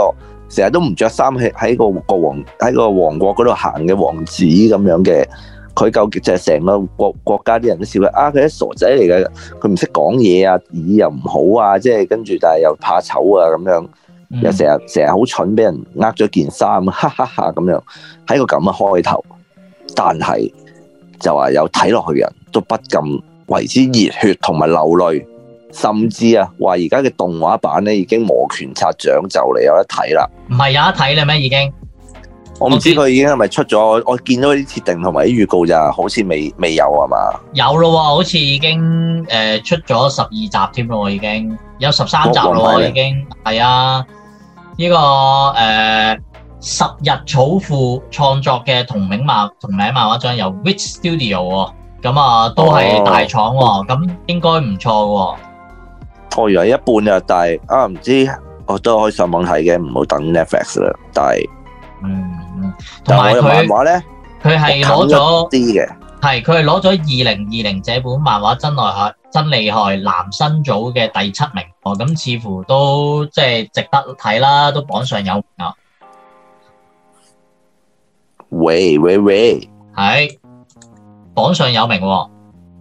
成日都唔着衫喺喺個國王喺個王國嗰度行嘅王子咁樣嘅，佢究竟就係成個國國家啲人都笑佢啊！佢啲傻仔嚟嘅，佢唔識講嘢啊，耳又唔好啊，即係跟住但係又怕醜啊咁樣，又成日成日好蠢，俾人呃咗件衫，哈哈哈咁樣，喺個咁嘅開頭，但係就話有睇落去嘅人都不禁為之熱血同埋流淚。甚至啊，話而家嘅動畫版咧已經摩拳擦掌，就嚟有得睇啦。唔係有得睇啦咩？已經我唔知佢已經係咪出咗？我見到啲設定同埋啲預告咋，好似未未有啊嘛？有咯，好似已經誒、呃、出咗十二集添咯，已經有十三集咯，已經係啊。呢、這個誒、呃、十日草父創作嘅同名漫同名漫畫章由 Wit Studio 喎，咁啊都係大廠喎，咁、哦、應該唔錯喎。我以為一半呀，但係啊唔知，我都可以上網睇嘅，唔好等 Netflix 啦。但係，嗯，同埋佢漫畫咧，佢係攞咗啲嘅，係佢係攞咗二零二零這本漫畫真厲害真厲害男新組嘅第七名，哦，咁似乎都即係值得睇啦，都榜上有名啊！喂喂喂，係榜上有名喎。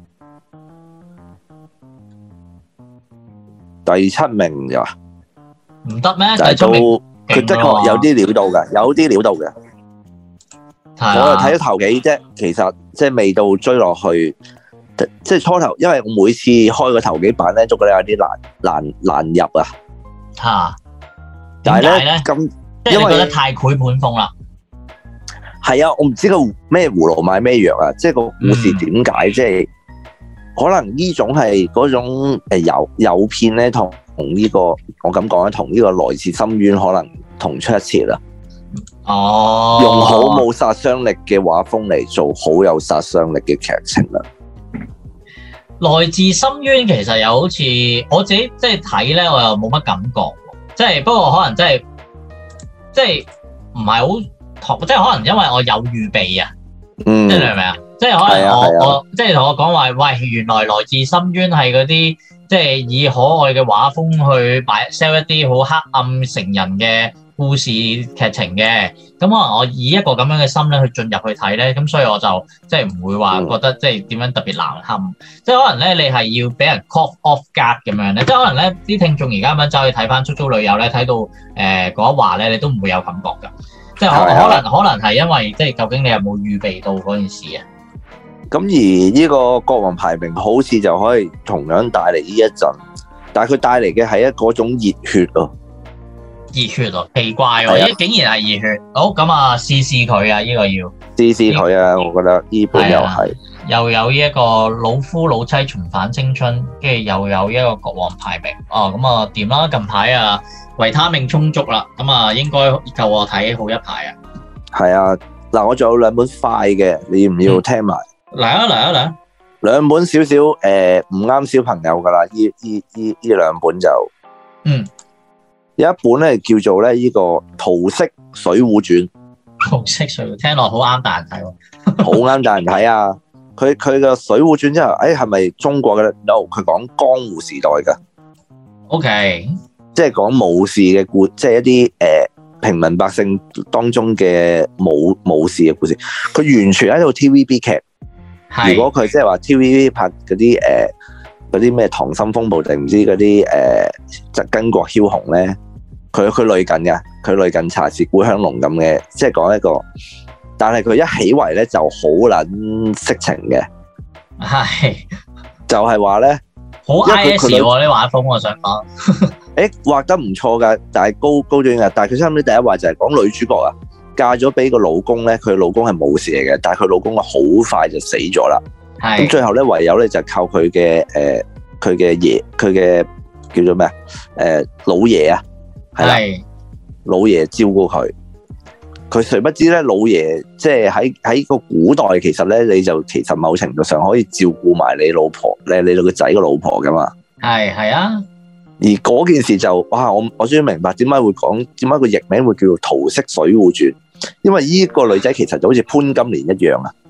第七名就唔得咩？第七名佢的確有啲料到嘅，有啲料到嘅。我就睇咗頭幾啫，其實即係未到追落去，即係初頭，因為我每次開個頭幾版咧，都覺得有啲難難難入啊。嚇！但係咧咁，因為覺得太繪本風啦。係啊，我唔知個咩葫蘆賣咩藥啊，即係個故事點解即係。可能呢種係嗰種誒誘誘騙咧，同同呢個我咁講咧，同呢個來自深淵可能同出一轍啦。哦，用好冇殺傷力嘅畫風嚟做好有殺傷力嘅劇情啦。來自深淵其實又好似我自己即係睇咧，我又冇乜感覺。即係不過可能真係即係唔係好，即係可能因為我有預備啊。嗯，即係你明唔明啊？即係可能我、啊啊、我即係同我講話，喂，原來來自深淵係嗰啲即係以可愛嘅畫風去擺 sell 一啲好黑暗成人嘅故事劇情嘅，咁可能我以一個咁樣嘅心咧去進入去睇咧，咁所以我就即係唔會話覺得即係點樣特別難堪，嗯、即係可能咧你係要俾人 call off guard 咁樣咧，即係可能咧啲聽眾而家咁樣走去睇翻《出租女友》咧，睇到誒嗰一話咧，你都唔會有感覺㗎，即係可可能可能係因為即係究竟你有冇預備到嗰件事啊？咁而呢個國王排名好似就可以同樣帶嚟呢一陣，但係佢帶嚟嘅係一嗰種熱血啊，熱血啊，奇怪喎，咦，竟然係熱血，好咁啊，試試佢啊，呢個要試試佢啊，我覺得呢本又係又有呢一個老夫老妻重返青春，跟住又有一個國王排名，哦，咁啊掂啦，近排啊維他命充足啦，咁啊應該夠我睇好一排啊，係啊，嗱我仲有兩本快嘅，你要唔要聽埋？嚟啊嚟啊嚟啊！兩本少少誒唔啱小朋友噶啦，呢呢呢呢兩本就，嗯，有一本咧叫做咧呢個《桃色水滸傳》。桃色水滸聽落好啱大人睇喎，好啱大人睇啊！佢佢個《水滸傳》之後，誒係咪中國嘅咧 ？No，佢講江湖時代噶。OK，即係講武士嘅故，即係一啲誒、呃、平民百姓當中嘅武武士嘅故事。佢完全喺度 T V B 劇。如果佢即係話 T V B 拍嗰啲誒嗰啲咩溏心風暴定唔知嗰啲誒就巾幗梟雄咧，佢佢類近嘅，佢類近茶是故鄉濃咁嘅，即係講一個，但係佢一起圍咧就好撚色情嘅，係就係話咧好 I S 喎啲畫風，我想講，誒畫得唔錯㗎，但係高高端嘅，但係佢差唔多第一話就係講女主角啊。嫁咗俾個老公咧，佢老公係冇事嚟嘅，但係佢老公啊好快就死咗啦。係咁最後咧，唯有咧就靠佢嘅誒，佢嘅爺，佢嘅叫做咩啊？誒老爺啊，係啦，老爺照顧佢。佢誰不知咧，老爺即係喺喺個古代，其實咧你就其實某程度上可以照顧埋你老婆，你你個仔個老婆噶嘛。係係啊。而嗰件事就哇，我我終於明白點解會講，點解個譯名會叫做《桃色水滸傳》。因為呢個女仔其實就好似潘金蓮一樣啊，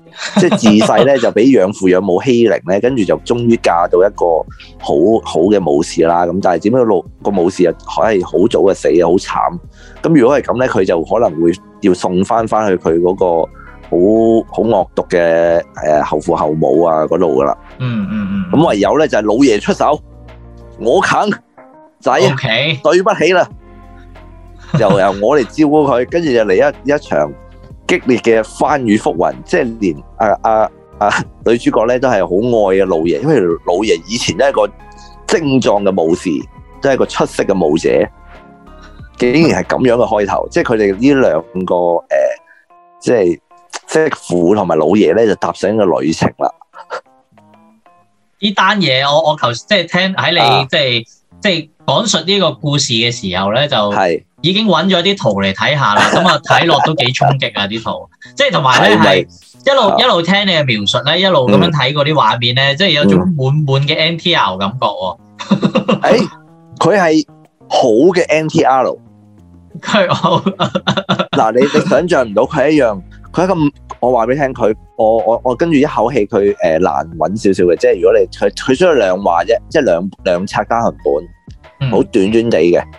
即係自細咧就俾養父養母欺凌咧，跟住就終於嫁到一個好好嘅武士啦。咁但係點解個個武士又係好早就死啊，好慘。咁如果係咁咧，佢就可能會要送翻翻去佢嗰個好好惡毒嘅誒後父後母啊嗰度噶啦。 嗯嗯嗯。 咁唯有咧就係老爺出手，我啃仔，okay. 對不起啦，又由我嚟照顧佢，跟住就嚟一一場激烈嘅翻雨覆雲，即係連啊啊啊女主角咧都係好愛嘅老爺，因為老爺以前都係一個精壯嘅武士，都係一個出色嘅武者，竟然係咁樣嘅開頭，即係佢哋呢兩個誒、呃，即係媳婦同埋老爺咧就踏上一個旅程啦。 呢單嘢我我頭即係聽喺你、啊、即係即係講述呢個故事嘅時候咧，就係已經揾咗啲圖嚟睇下啦。咁啊睇落都幾衝擊啊啲圖，即係同埋咧係一路、啊、一路聽你嘅描述咧，一路咁樣睇嗰啲畫面咧，即、嗯、係有種滿滿嘅 N T R 感覺喎。誒、 欸，佢係好嘅 N T R。 佢好嗱，你你想象唔到佢一樣，佢一個我話俾你聽，佢我我我跟住一口氣佢誒、呃、難揾少少嘅，即係如果你佢佢需要兩話啫，即係兩兩冊單行本，好、嗯、短短地嘅。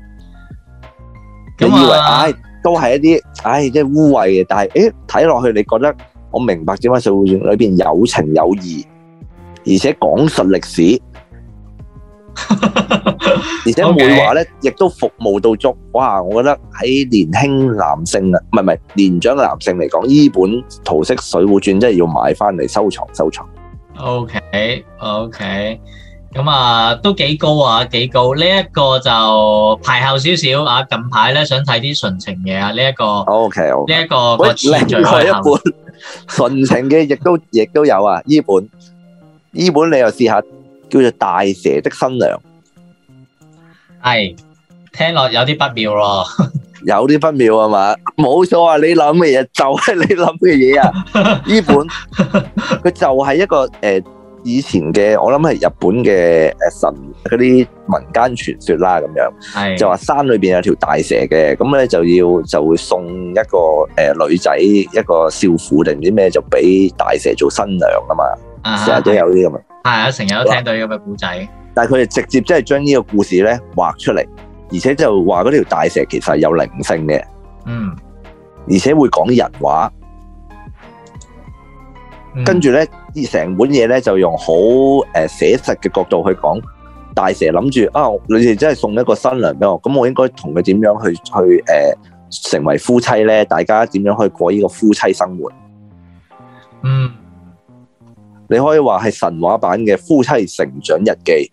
你以為唉、哎、都係一啲唉即係污穢嘅，但係誒睇落去你覺得我明白點解《水滸傳》裏邊有情有義，而且講述歷史。而且每話咧，亦都服務到足。哇！我覺得喺年輕男性啊，唔係唔係年長嘅男性嚟講，呢本《桃色水滸傳》真係要買翻嚟收藏收藏。 OK OK，咁啊都幾高啊，幾高。呢一個就排後少少啊。近排咧想睇啲純情嘢啊，呢一個 OK，呢一個個次序另外一本純情嘅，亦都亦都有啊。呢本呢本你又試下。叫做大蛇的新娘， 係聽落有啲不妙咯， 有啲不妙啊嘛，冇錯啊！你諗嘅嘢就係你諗嘅嘢啊！呢本佢就係一個誒、呃、以前嘅，我諗係日本嘅誒神嗰啲民間傳說啦，咁樣就話山裏邊有條大蛇嘅，咁咧就要就會送一個誒、呃、女仔一個少婦定唔知咩，就俾大蛇做新娘啊嘛，成日都有啲咁啊。 係啊，成日都聽到呢個嘅故仔， 但係佢哋直接即係將呢個故事咧畫出嚟，而且就話嗰條大蛇其實係有靈性嘅，嗯，而且會講人話，嗯、跟住咧，成本嘢咧就用好誒寫實嘅角度去講，大蛇諗住啊，你哋真係送一個新娘俾我，咁我應該同佢點樣去去誒、呃、成為夫妻咧？大家點樣去過呢個夫妻生活？嗯。你可以話係神話版嘅夫妻成長日記，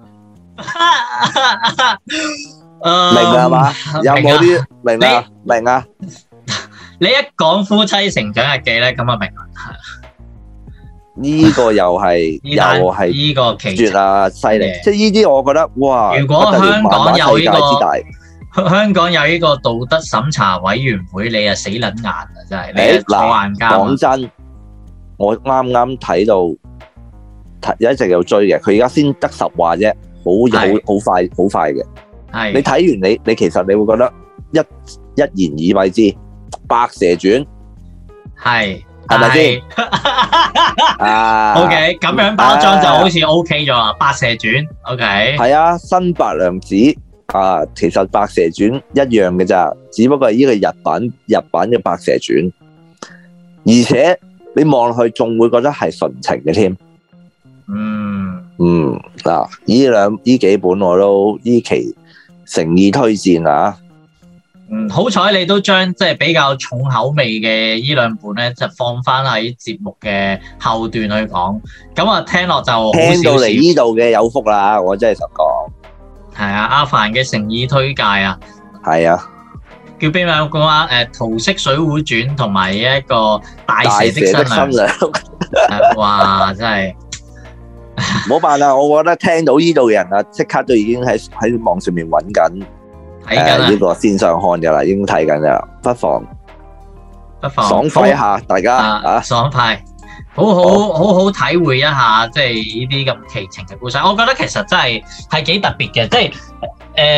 明係嘛？有冇啲明啊？明啊？ 你一講夫妻成長日記咧，咁啊明啦。 呢個又係又係呢個奇絕啊！犀利，即係呢啲我覺得哇！ 如果香港有呢個香港有呢個道德審查委員會，你啊死撚硬啊！真係你坐硬監。 講真。我啱啱睇到，有一直有追嘅，佢而家先得十話啫，好好好快好快嘅。係你睇完你你其實你會覺得一一言以蔽之，《白蛇傳》係係咪先？啊 ，OK， 咁樣包裝就好似 OK 咗啦，《白蛇傳》OK 係啊，新白娘子啊，其實《白蛇傳》一樣嘅咋，只不過係呢個日版日版嘅《白蛇傳》，而且。你望落去仲會覺得係純情嘅添，嗯嗯嗱，呢兩呢幾本我都呢期誠意推薦啊！嗯，好彩你都將即係比較重口味嘅呢兩本咧，就放翻喺節目嘅後段去講。咁啊，聽落就好少少聽到嚟呢度嘅有福啦！我真係想講，係啊，阿凡嘅誠意推介啊，係啊。叫邊位講啊？誒，《桃色水滸傳》同埋一個大蛇的新娘，哇！真係唔好辦啦！我覺得聽到呢度嘅人啊，即刻都已經喺喺網上面揾緊睇緊呢個線上看噶啦，已經睇緊啦，不妨不妨爽快一下，大家啊，爽快，好好好好體會一下，即係呢啲咁奇情嘅故事。我覺得其實真係係幾特別嘅，即係誒。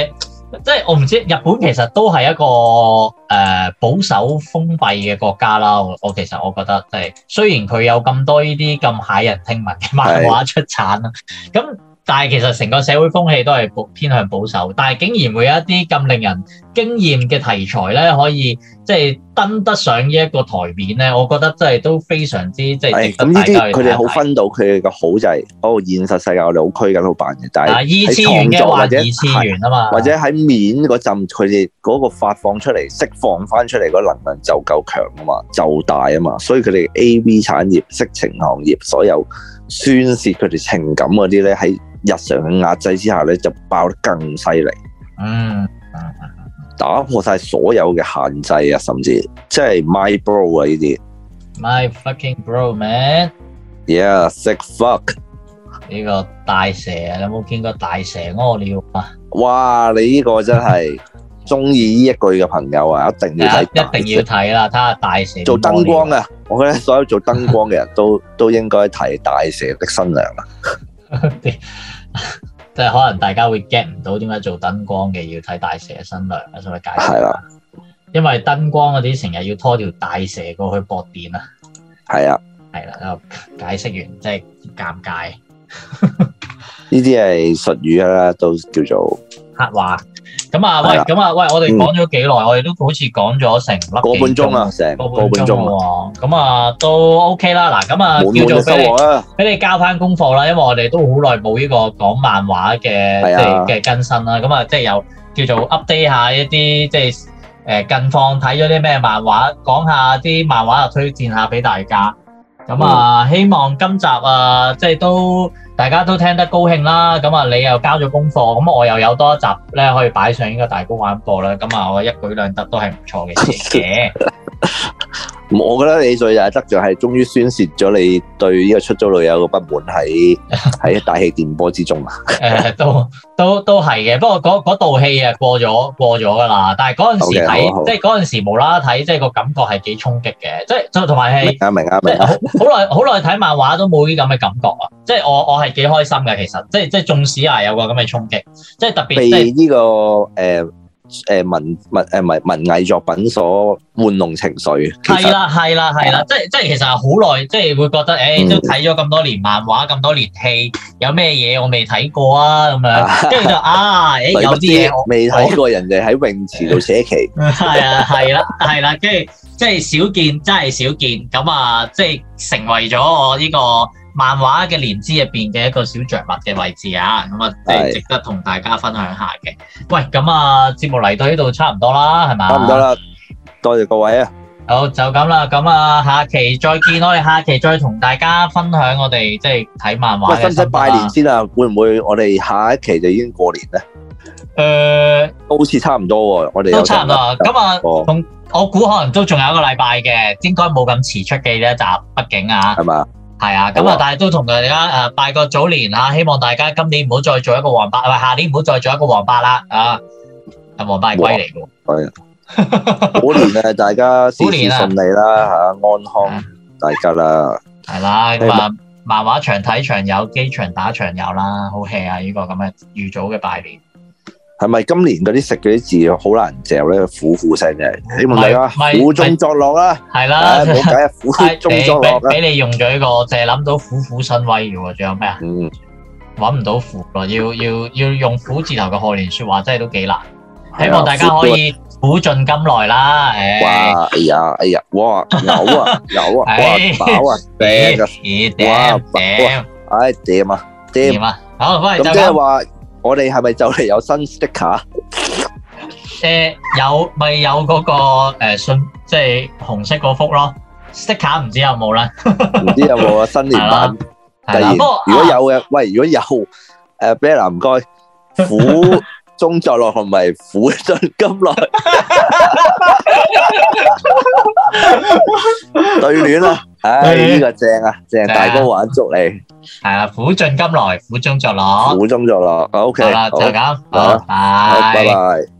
即係我唔知日本其實都係一個誒、呃、保守封閉嘅國家啦。我我其實我覺得即係雖然佢有咁多呢啲咁駭人聽聞嘅漫畫出產啦，咁。但係其實成個社會風氣都係偏向保守，但係竟然會有一啲咁令人驚豔嘅題材咧，可以即係登得上呢一個台面咧，我覺得真係都非常之即係值得大家去睇睇。咁呢啲佢哋好分到佢哋嘅好就係，哦現實世界我哋好拘謹好辦嘅，但係二次元嘅或者二次元啊嘛，或者喺面嗰陣佢哋嗰個發放出嚟釋放翻出嚟嗰能量就夠強啊嘛，就大啊嘛，所以佢哋 A V 產業、色情行業所有宣泄佢哋情感嗰啲咧喺日常嘅壓制之下咧，就爆得更犀利。嗯，打破晒所有嘅限制啊，甚至即係 my bro 啊呢啲。My fucking bro man。Yeah, sick fuck。呢個大蛇啊，你有冇見過大蛇屙尿啊？哇！你呢個真係中意呢一句嘅朋友啊，一定要睇，一定要睇啦！睇下大蛇做燈光啊！我覺得所有做燈光嘅人都都應該睇大蛇的新娘啊！即係可能大家會 get 唔到點解做燈光嘅要睇大蛇嘅新娘啊，所以解釋啦。因為燈光嗰啲成日要拖條大蛇過去駁電啊。係啊，係啦，解釋完即係尷尬。呢啲係術語啦，都叫做黑話。咁啊，喂，咁啊，喂，我哋講咗幾耐？我哋都好似講咗成粒個半鐘啊，成個半鐘喎。咁啊，都 OK 啦。嗱，咁啊，叫做俾你俾你交翻功課啦。因為我哋都好耐冇呢個講漫畫嘅即係嘅更新啦。咁啊，即係又叫做 update 下一啲即係誒近況，睇咗啲咩漫畫，講下啲漫畫又推薦下俾大家。咁啊，希望今集啊，即係都大家都聽得高興啦。咁啊，你又交咗功課，咁我又有多一集咧可以擺上呢個大公玩播啦。咁啊，我一舉兩得都係唔錯嘅事嘅。我覺得你最大得就係終於宣泄咗你對呢個出租女友嘅不滿喺喺大氣電波之中啊！誒，都都都係嘅，不過嗰嗰道氣啊過咗過咗噶啦。但係嗰陣時睇，即係嗰陣時無啦啦睇，即係個感覺係幾衝擊嘅。即係同埋係明啊明啊明啊！好耐好耐睇漫畫都冇呢咁嘅感覺啊！即係我我係幾開心嘅，其實即係即係縱使啊有個咁嘅衝擊，即係特別被呢個誒。誒文文誒文文藝作品所玩弄情緒，係啦係啦係啦，即係即係其實好耐，即係會覺得誒都睇咗咁多年漫畫，咁多年戲，有咩嘢我未睇過啊咁樣，跟住就啊誒有啲嘢我未睇過，人哋喺泳池度寫旗，係啊係啦係啦，跟住即係少見，真係少見，咁啊即係成為咗我呢個漫畫嘅連枝入邊嘅一個小着物嘅位置啊，咁啊，即係值得同大家分享下嘅。喂，咁啊，節目嚟到呢度差唔多啦，係咪？差唔多啦，多謝各位啊。好，就咁啦，咁啊，下期再見，我哋下期再同大家分享我哋即係睇漫畫嘅。喂，使唔使拜年先啊？會唔會我哋下一期就已經過年咧？誒，都好似差唔多喎，我哋都差唔多。咁啊，同我估可能都仲有一個禮拜嘅，應該冇咁遲出嘅呢一集，畢竟啊，係嘛？係啊，咁啊，但係都同大家誒拜個早年啊，希望大家今年唔好再做一個黃八，唔係下年唔好再做一個黃八啦啊！係黃八係龜嚟嘅，係虎年啊，大家事事順利啦嚇，安康大家啦。係啦，咁啊，漫畫長睇長有，機場打長有啦，好 hea 啊！呢個咁嘅預早嘅拜年。係咪今年嗰啲食嗰啲字好難嚼咧？苦苦聲嘅，希望大家苦中作樂啦。係啦，冇計啊，苦中作樂啊！俾你用咗呢個，淨係諗到虎虎生威嘅喎，仲有咩啊？嗯，揾唔到虎咯，要要要用虎字頭嘅賀年説話，真係都幾難。希望大家可以苦盡甘來啦。誒，哇！哎呀，哎呀，哇！有啊，有啊，哇！飽啊，頂啊，哇！頂，哎，掂啊，掂啊！好，喂，咁即係話。我哋係咪就嚟有新 sticker？誒，有咪有嗰個誒信，即係紅色嗰幅咯。sticker 唔知有冇啦，唔知有冇啊？新年版突然，如果有嘅，喂，如果有誒，Bella 唔該，苦中作樂同埋苦盡甘來，對聯啊！唉，呢個正啊，正大哥玩足你。係啊，苦盡甘來，苦中作樂，苦中作樂，OK，好啦，就咁，好，拜拜。